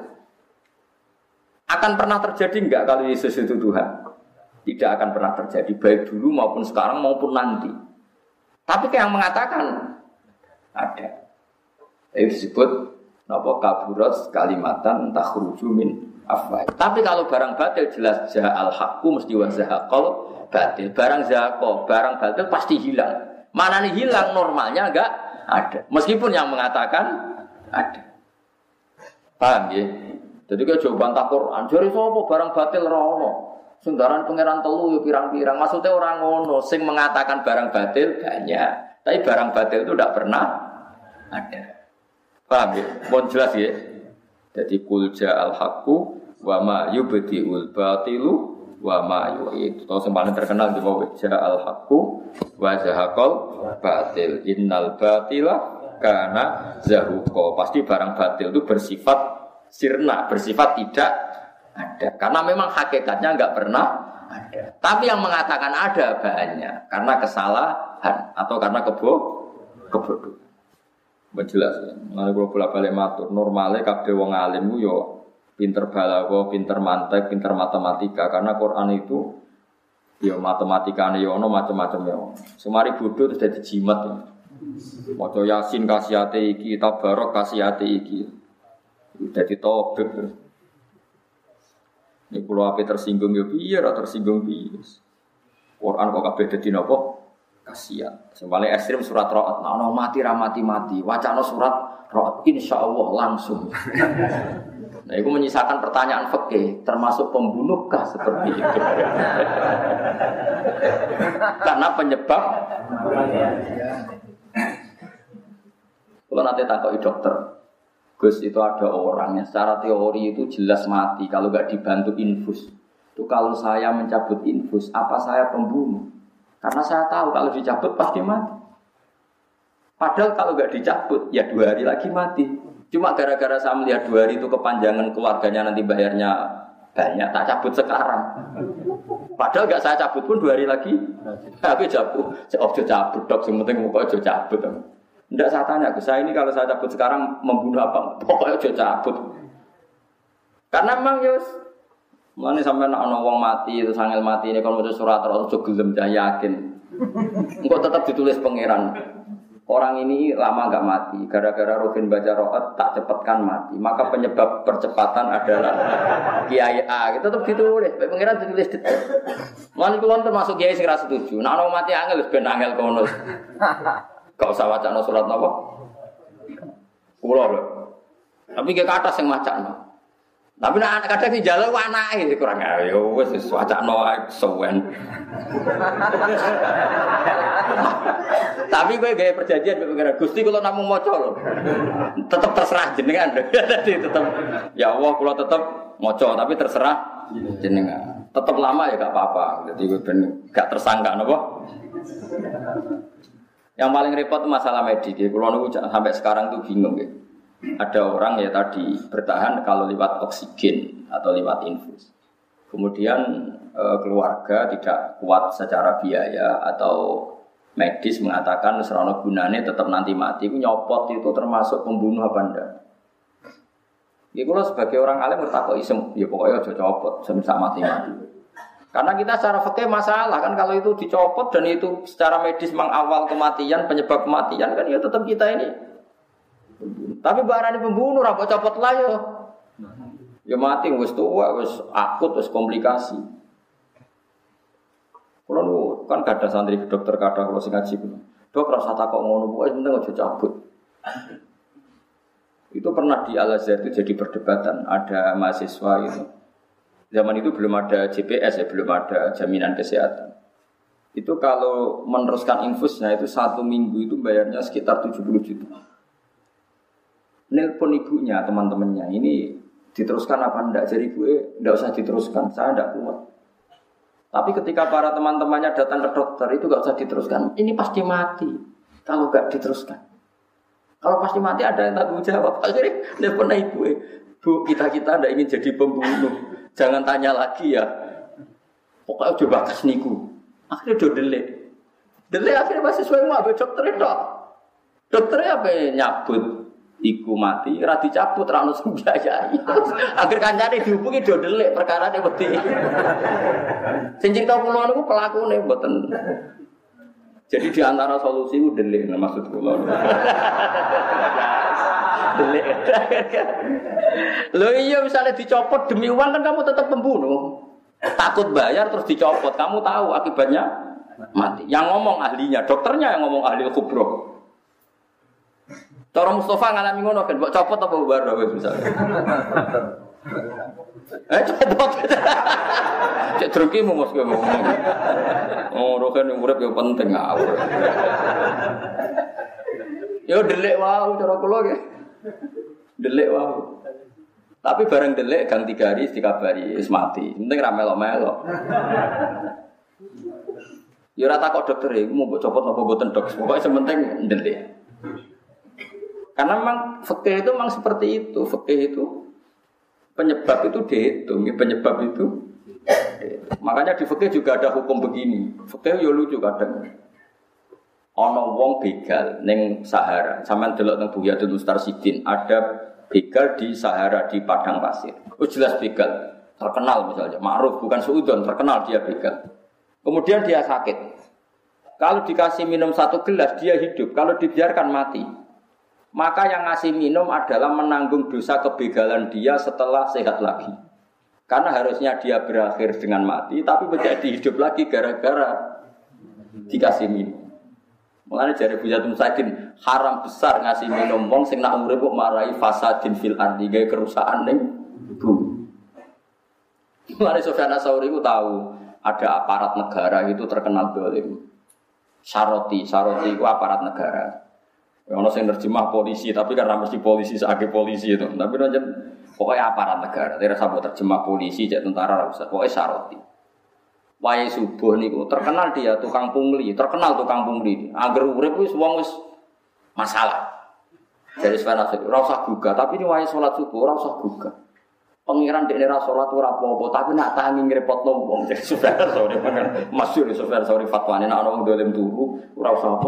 S1: Akan pernah terjadi enggak kalau Yesus itu Tuhan? Tidak akan pernah terjadi baik dulu maupun sekarang maupun nanti. Tapi yang mengatakan ada. Itu disebut napa kaburat kalimatan takhruju min afwahi. Tapi kalau barang batil jelas ja'al haqqu mesti wa zahaqal batil. Barang zahaqo, barang batil pasti hilang. Mana nih hilang normalnya enggak ada. Meskipun yang mengatakan ada. Paham ya? Jadi kalau jawaban tak Quran, jare sapa barang batil ora ono. Senggaran pangeran telu yo pirang-pirang. Maksudnya orang ngono sing mengatakan barang batil banyak. Tapi barang batil itu tidak pernah ada. Paham ya? Mohon jelas ya. Jadi kul ja'al haqqu wa ma yubdi'ul batilu wa ma yu'id. Itu yang paling terkenal di bawah ja'al haqqu wa zahaqal batil. Innal batila kana zahuqa. Pasti barang batil itu bersifat sirna, bersifat tidak ada. Karena memang hakikatnya enggak pernah ada. Tapi yang mengatakan ada banyak karena kesalahan atau karena kebodohan. Menjelas ya. Mulane kula bolak-balik matur, normale kabeh wong alim ku yo pinter balaghah, pinter mantek, pinter matematika karena Quran itu yo matematikane yo ono macam-macam yo. Semari bodoh terus dadi jimat ya. Maca Yasin kasihate iki, Tabarok kasihate iki. Dadi tobek. Ini kalau apa tersinggung ya piye, tersinggung piye. Quran kok kabeh dadi napa? Kasihan. Sembale ekstrem surat Ra'd, ana mati ra mati-mati. Wacana surat Ra'd insyaallah langsung. Nah, itu menyisakan pertanyaan fikih, termasuk pembunuhkah seperti itu? Karena penyebab Kalau nanti takoki dokter, Gus itu ada orang yang secara teori itu jelas mati kalau nggak dibantu infus. Itu kalau saya mencabut infus, apa saya pembunuh? Karena saya tahu kalau dicabut pasti mati. Padahal kalau nggak dicabut, ya 2 hari lagi mati. Cuma gara-gara saya melihat 2 hari itu kepanjangan keluarganya nanti bayarnya banyak, tak cabut sekarang. Padahal nggak saya cabut pun 2 hari lagi. Tapi cabut, cabut dok, yang penting pokoknya cabut. Tidak saya tanya ke saya ini kalau saya cabut sekarang membunuh apa? Pokoknya cabut. Karena memang Yus, mana sampai nak wong mati itu sangel mati ini kalau mau surat atau gelem yakin. Engkau tetap ditulis pangeran. Orang ini lama enggak mati, gara-gara Ruhin baca ro'at tak cepatkan mati. Maka penyebab percepatan adalah Kiai A. Itu tetap ditulis, pengiran ditulis detail. Mana kulon termasuk Kiai sing ra setuju. Nek ana mati angel wis ben angel kono. Gak usah wacana surat napa? Kula lho. Tapi ge kathah sing macakno. Tapi nek kadang dijaluk anake kurang ayo wis wacana ae suwen. Tapi kowe gawe perjanjian kok pengen Gusti kula namung maca lho. Tetep terserah jenengan. Dadi tetep ya Allah kula tetep maca tapi terserah jenengan. Tetep lama ya gak apa-apa. Dadi ben gak tersangka napa. Yang paling repot masalah medis. Kula niku sampai sekarang tuh bingung nggih. Ada orang ya tadi bertahan kalau lewat oksigen atau lewat infus. Kemudian keluarga tidak kuat secara biaya atau medis mengatakan serono gunane tetap nanti mati. Itu nyopot itu termasuk pembunuh apa enggak? Ya kalau sebagai orang alim bertakwa isem, ya pokoknya aja copot, semisal mati-mati. Karena kita secara fikih masalah kan kalau itu dicopot dan itu secara medis mengawal kematian, penyebab kematian kan ya tetap kita ini. Tapi barang pembunuh rapat copot lah ya. Ya mati wis tua, wis akut, wis komplikasi. Kalau kan kada santri dokter kada kalau sing ngaji kulo. Dok rasa takok ngono pokoke penting aja cabut. Itu pernah di Al-Azhar itu jadi perdebatan, ada mahasiswa itu. Zaman itu belum ada JPS ya, belum ada jaminan kesehatan. Itu kalau meneruskan infusnya itu 1 minggu itu bayarnya sekitar 70 juta. Nelpon ibunya, teman-temannya, ini diteruskan apa enggak? Jadi gue enggak usah diteruskan, saya enggak kuat. Tapi ketika para teman-temannya datang ke dokter, itu enggak usah diteruskan. Ini pasti mati kalau enggak diteruskan. Kalau pasti mati ada yang tanggung jawab. Akhirnya nelpon ibu, Bu, kita enggak ingin jadi pembunuh. Jangan tanya lagi ya. Pokoknya coba kas niku. Akhirnya do delek. Delek akhirnya masih sesuai mau dokter itu. Dokternya apa nyabut? Iku mati, ra dicabut ra ono sing biayai. Akhir kancane dihubungi do delik perkarane wedi. Sing cerita kula niku pelakune mboten. Jadi di antara solusi ku delik maksud kula. Delik. Lho iya misalnya dicopot demi uang kan kamu tetap pembunuh. Takut bayar terus dicopot, kamu tahu akibatnya mati. Yang ngomong ahlinya, dokternya yang ngomong ahli kubro. Cara Mustafa ngalami ngono kan, mbok copot apa bubar wis misalnya. Copot. Cek druki mu mos kowe ngomong. Oh, roken urip yo penting ngawur. Yo delik wae cara kula nggih. Delik wae. Tapi bareng delik gang 3 hari dikabari wis mati. Penting ra melok-melok. Yo ora takok dokter iku mau mbok copot apa mboten dok. Pokoke sementing delik. Karena memang fikih itu memang seperti itu. Fikih itu penyebab itu dihitung, penyebab itu. Makanya di fikih juga ada hukum begini. Fikih yo lucu kadang. Ana wong begal ning Sahara. Sampeyan delok teng Buyatul Mustarsidin, ada begal di Sahara di padang pasir. Oh jelas begal. Terkenal misalnya, ma'ruf bukan suudon, terkenal dia begal. Kemudian dia sakit. Kalau dikasih minum 1 gelas dia hidup, kalau dibiarkan mati. Maka yang ngasih minum adalah menanggung dosa kebegalan dia setelah sehat lagi. Karena harusnya dia berakhir dengan mati, tapi menjadi hidup lagi gara-gara dikasih minum. Mulane jare Buyatul Mustarsidin haram besar ngasih minum wong sing nak urip kok marai fasadin fil ardi gawe kerusakan ning bumi. Mulane Sufyan Ats-Tsauri ku tahu ada aparat negara itu terkenal dolim. Saroti itu aparat negara. Ono sing nerjemah polisi, tapi kan mesti polisi sebagai polisi itu. Tapi aja pokoknya aparat negara. Tidak usah terjemah polisi, jadi tentara usah. Pokoknya syaroti. Wae subuh niku terkenal dia tukang pungli, terkenal tukang pungli. Angger urip wis wong wis masalah. Jadi sebenarnya ora usah gugah, tapi ini wae salat subuh ora usah gugah. Pengiran dekne ra salat ora apa-apa, tapi nak tangi ngrepotno wong. Jadi sebenarnya sore kan masyhur sebenarnya sore fatwane nek ana wong dolim turu ora usah apa.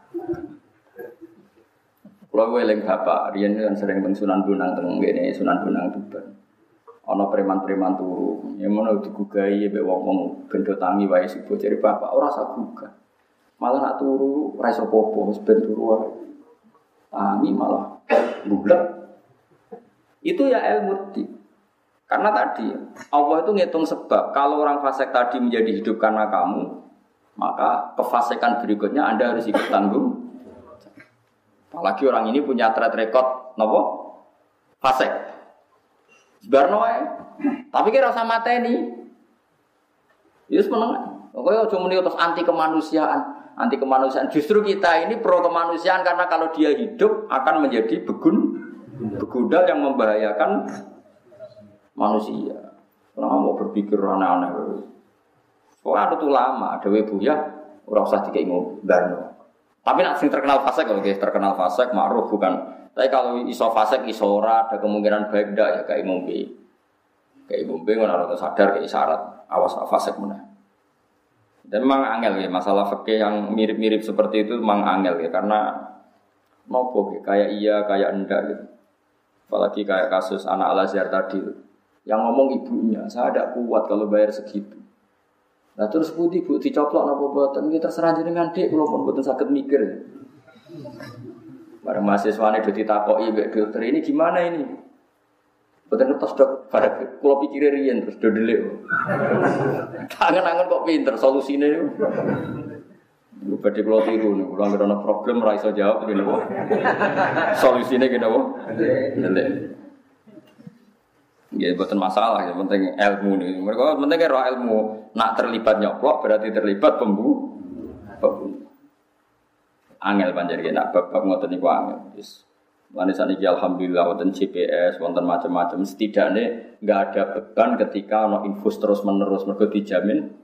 S1: Kalau eling bapak, riyen kan sering teng Sunan Bonang teng ngene Sunan Bonang Tuban. Ana preman-preman turu, ya ngono digugahi mbek wong-wong bendo tangi wae subuh jare bapak ora usah gugah. Malah nak turu ora iso apa-apa, wis ben turu wae. Tangi malah bulat. Itu ya ilmu di. Karena tadi Allah itu ngitung sebab. Kalau orang fasik tadi menjadi hidup karena kamu, maka kefasikan berikutnya Anda harus ikut tanggung. Apalagi orang ini punya track record nopo fasik. Sebarno ae. Tapi kira rasa mateni. Yes meneng. Pokoknya aja muni terus anti kemanusiaan. Anti kemanusiaan. Justru kita ini pro kemanusiaan karena kalau dia hidup akan menjadi begudal yang membahayakan manusia. Kenapa mau berpikir aneh-aneh? Soalnya itu lama, ada buya, ora usah dikei ngombarno. Tapi nak sing terkenal fasik, oke, terkenal fasik, ma'ruf bukan. Tapi kalau iso fasik, iso ora, ada kemungkinan baik ndak ya kayak ngombe. Kayak ngombe ngono ora sadar kayak syarat awas fasik meneh. Dan memang angel ya, masalah fikih yang mirip-mirip seperti itu memang angel ya, karena nopo kayak iya, kayak enggak gitu. Apalagi kayak kasus anak Al-Azhar tadi yang ngomong ibunya, saya tidak kuat kalau bayar segitu. Nah terus putih bu dicoplok napa boten kita terserah jenengan Dik, kula pun boten saged mikir. Bareng mahasiswane do ditakoki mbek dokter ini gimana ini? Boten ngertos dok, bareng kula pikire riyen terus do delik. Tangan-tangan kok pinter solusine. Lu badhe kula tiru niku, kula ana problem ra iso jawab ngene kok. Solusine kene kok. Delik. Ya bukan masalah, yang penting ilmu nih. Mereka penting kira ilmu. Nak terlibat nyoplok berarti terlibat pembunuh. Angel panjang nak bab ngoten niku angel. Wis. Lan saniki alhamdulillah wonten GPS, wonten macam-macam. Setidaknya enggak ada beban ketika ono infus terus-menerus mergo dijamin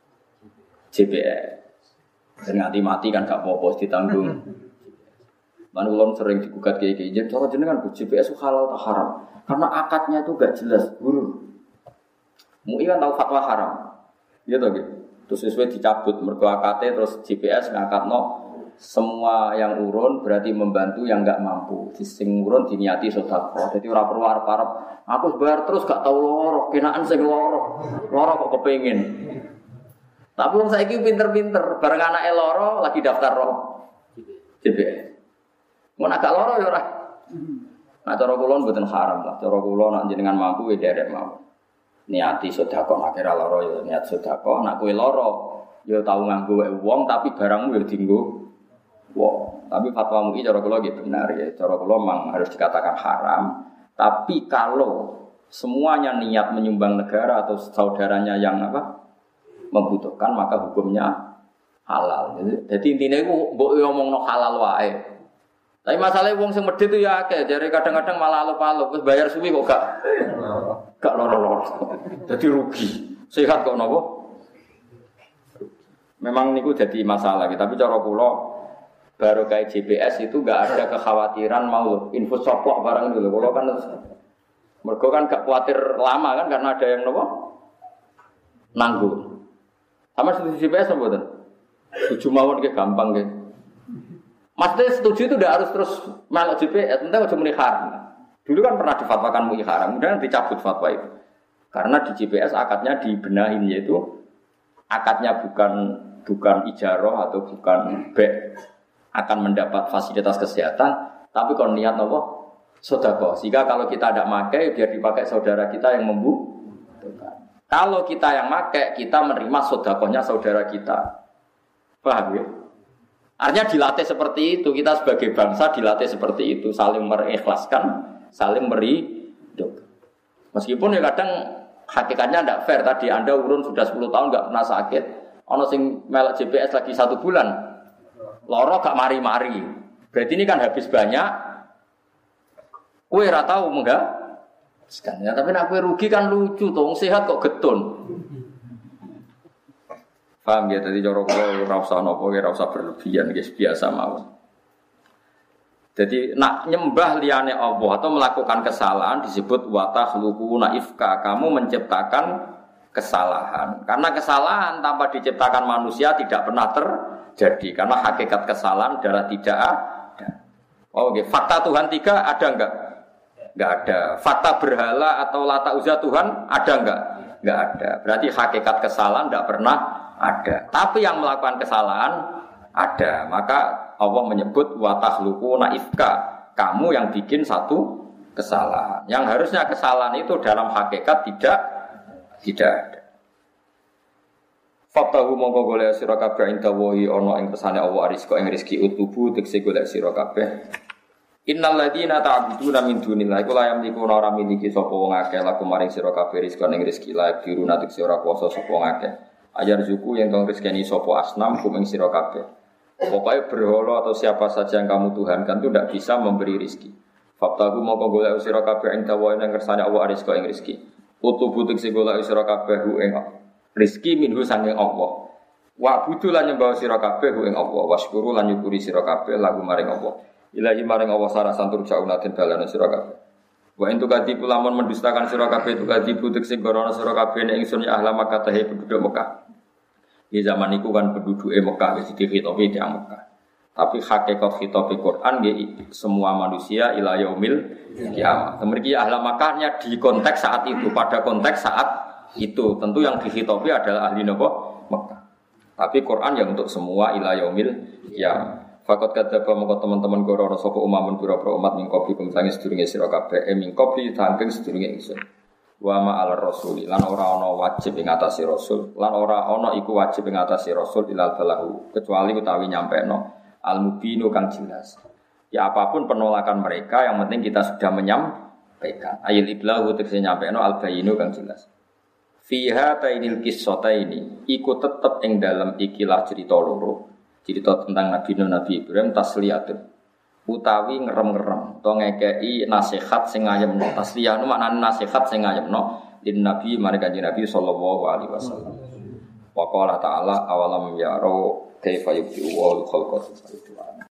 S1: GPS. Dan mati kan gak apa-apa ditanggung. Lan ulun sering digugat kiai-kiai, cara jenengan GPS halal atau haram? Karena akadnya itu gak jelas, guru. MUI kan tahu fatwa haram. Iya toh gitu. Terus sesuai dicabut mergo akadnya terus GPS ngakatno semua yang urun berarti membantu yang gak mampu. Sing urun diniati sedekah. Jadi ora perlu arep-arep aku bayar terus gak tahu loro, kenaan sing loro. Loro kok kepengin. Tapi wong saiki pinter-pinter, bareng anake loro lagi daftar roh GPS. Mun agak loro ya ora. Nah cara kula mboten haram lah. Cara kula nek jenengan mampu ya derek mawon. Niati sedekah nek kira lara ya niat sedekah, nek kowe lara ya tau nganggo wong tapi barangmu ya dienggo wong. Tapi fatwa MUI cara kula nggih benar ya. Cara kula memang harus dikatakan haram. Tapi kalau semuanya niat menyumbang negara atau saudaranya yang membutuhkan maka hukumnya halal. Jadi intinya iku mbok ngomongno halal wae. Tapi masalahnya wong sing medhit itu ya akeh, jare kadang-kadang malah alup-alup, wis bayar suwi kok gak loro-loro. Dadi rugi. Sehat kok napa? Memang niku dadi masalah, tapi cara kula baru kayak GPS itu gak ada kekhawatiran mau info soplok barang itu lho. Kula kan mergo kan gak khawatir lama kan karena ada yang napa? Nanggung. Sama seperti GPS mboten. Tujuh mawon ki gampang nggih. Maksudnya setuju itu tidak harus terus melok GPS, entah cuma muni haram. Dulu kan pernah difatwakan muni haram, kemudian dicabut fatwa itu. Karena di GPS akadnya dibenahin yaitu akadnya bukan ijarah atau bukan bek akan mendapat fasilitas kesehatan, tapi kalau niat apa? Sedekah. Sehingga kalau kita tidak pakai biar dipakai saudara kita yang membutuhkan. Kalau kita yang pakai, kita menerima sedekahnya saudara kita. Paham ya? Artinya dilatih seperti itu, kita sebagai bangsa dilatih seperti itu, saling mengikhlaskan, saling meridho. Meskipun ya kadang hakikatnya tidak fair, tadi Anda urun sudah 10 tahun nggak pernah sakit, ono sing melok GPS lagi 1 bulan, loro gak mari-mari, Berarti ini kan habis banyak. Kowe ora tau enggak? Ya, tapi nek kowe rugi kan lucu to, wong sehat kok getun. Paham ya, tadi cara kula ora usah napa, ora usah berlebihan, guys, biasa mawon. Jadi nak nyembah liyane Allah atau melakukan kesalahan disebut wa takhluquna ifka, kamu menciptakan kesalahan. Karena kesalahan tanpa diciptakan manusia tidak pernah terjadi. Karena hakikat kesalahan adalah tidak ada. Oh, okay. Fakta Tuhan 3 ada enggak? Enggak ada. Fakta berhala atau lata uzza Tuhan ada enggak? Enggak ada. Berarti hakikat kesalahan tidak pernah ada. Tapi yang melakukan kesalahan ada. Maka Allah menyebut wa takhluquna ifka, kamu yang bikin satu kesalahan. Yang harusnya kesalahan itu dalam hakikat tidak ada. Fatahu mongko golek sira kabeh inda wahi ana ing pesane Allah rizqa ing rezeki utubu tekse golek sira kabeh. Innal ladina ta'buduna min dunillahi kula yamlikuna ora miliki sapa wong akeh laku maring sira kabeh rizqa ing rezeki la diruna tekse ora kuwasa sapa wong akeh. Ajar zuku yang tong rezekeni sapa asnam kumeng sira kabeh. Pokoknya berhala atau siapa saja yang kamu tuhankan itu tidak bisa memberi rizki. Fatahu mongko golek sira kabeh inda wahi ing kersane Allah rizqa ing rezeki. Utubu tekse golek sira kabeh ing rizki minhu sanging Allah. Wa budu lan nyembah sira kabeh ing Allah. Wasyukuru lan nyukuri sira kabeh lagu maring Allah. Ilahi maring Allah sarasan turjauna den balana sira kabeh. Wa entu kadipu lamun mendustakan sira kabeh tu kadipu tekse gorono sira kabeh ning ingsun ya ahla Makkah tahe penduduk Mekah. Di zaman itu kan penduduk Mekah wis dikhitobi di Mekah. Tapi hakikat khitab Quran nggih semua manusia ila yaumil kiamat. Kemudian ahli Makkahnya di konteks saat itu, pada konteks saat itu. Tentu yang dikhitobi adalah ahli Mekah. Tapi Quran yang untuk semua ila yaumil kiamat. Fakot kadzaba mongko teman-teman goro sapa umamun pira-pira umat mingkopi kumsange sedurunge sira kabeh mingkopi saking sedurunge ingsun. Wa ma'al rasuli lan ora ana wajib ing atase rasul lan ora ana iku wajib ing atase rasul ilal balahu kecuali utawi nyampeno al mubinu kang jelas. Ya apapun penolakan mereka yang penting kita sudah menyampaikan. Ayil iblahu tegese nyampeno al bayinu kang jelas. Fiha tainil qissataini iku tetep ing dalem ikilah cerita loro. Cerita tentang Nabi Ibrahim tasliyatun utawi ngerem-ngerem to ngekeki nasihat sing ngayemno tasliyah nu maknane nasihat sing ngayemno lin nabi marang kanjeng Nabi sallallahu alaihi wasallam. Wa qala ta'ala awalam yaro kaifa yubdi'u wa khalqa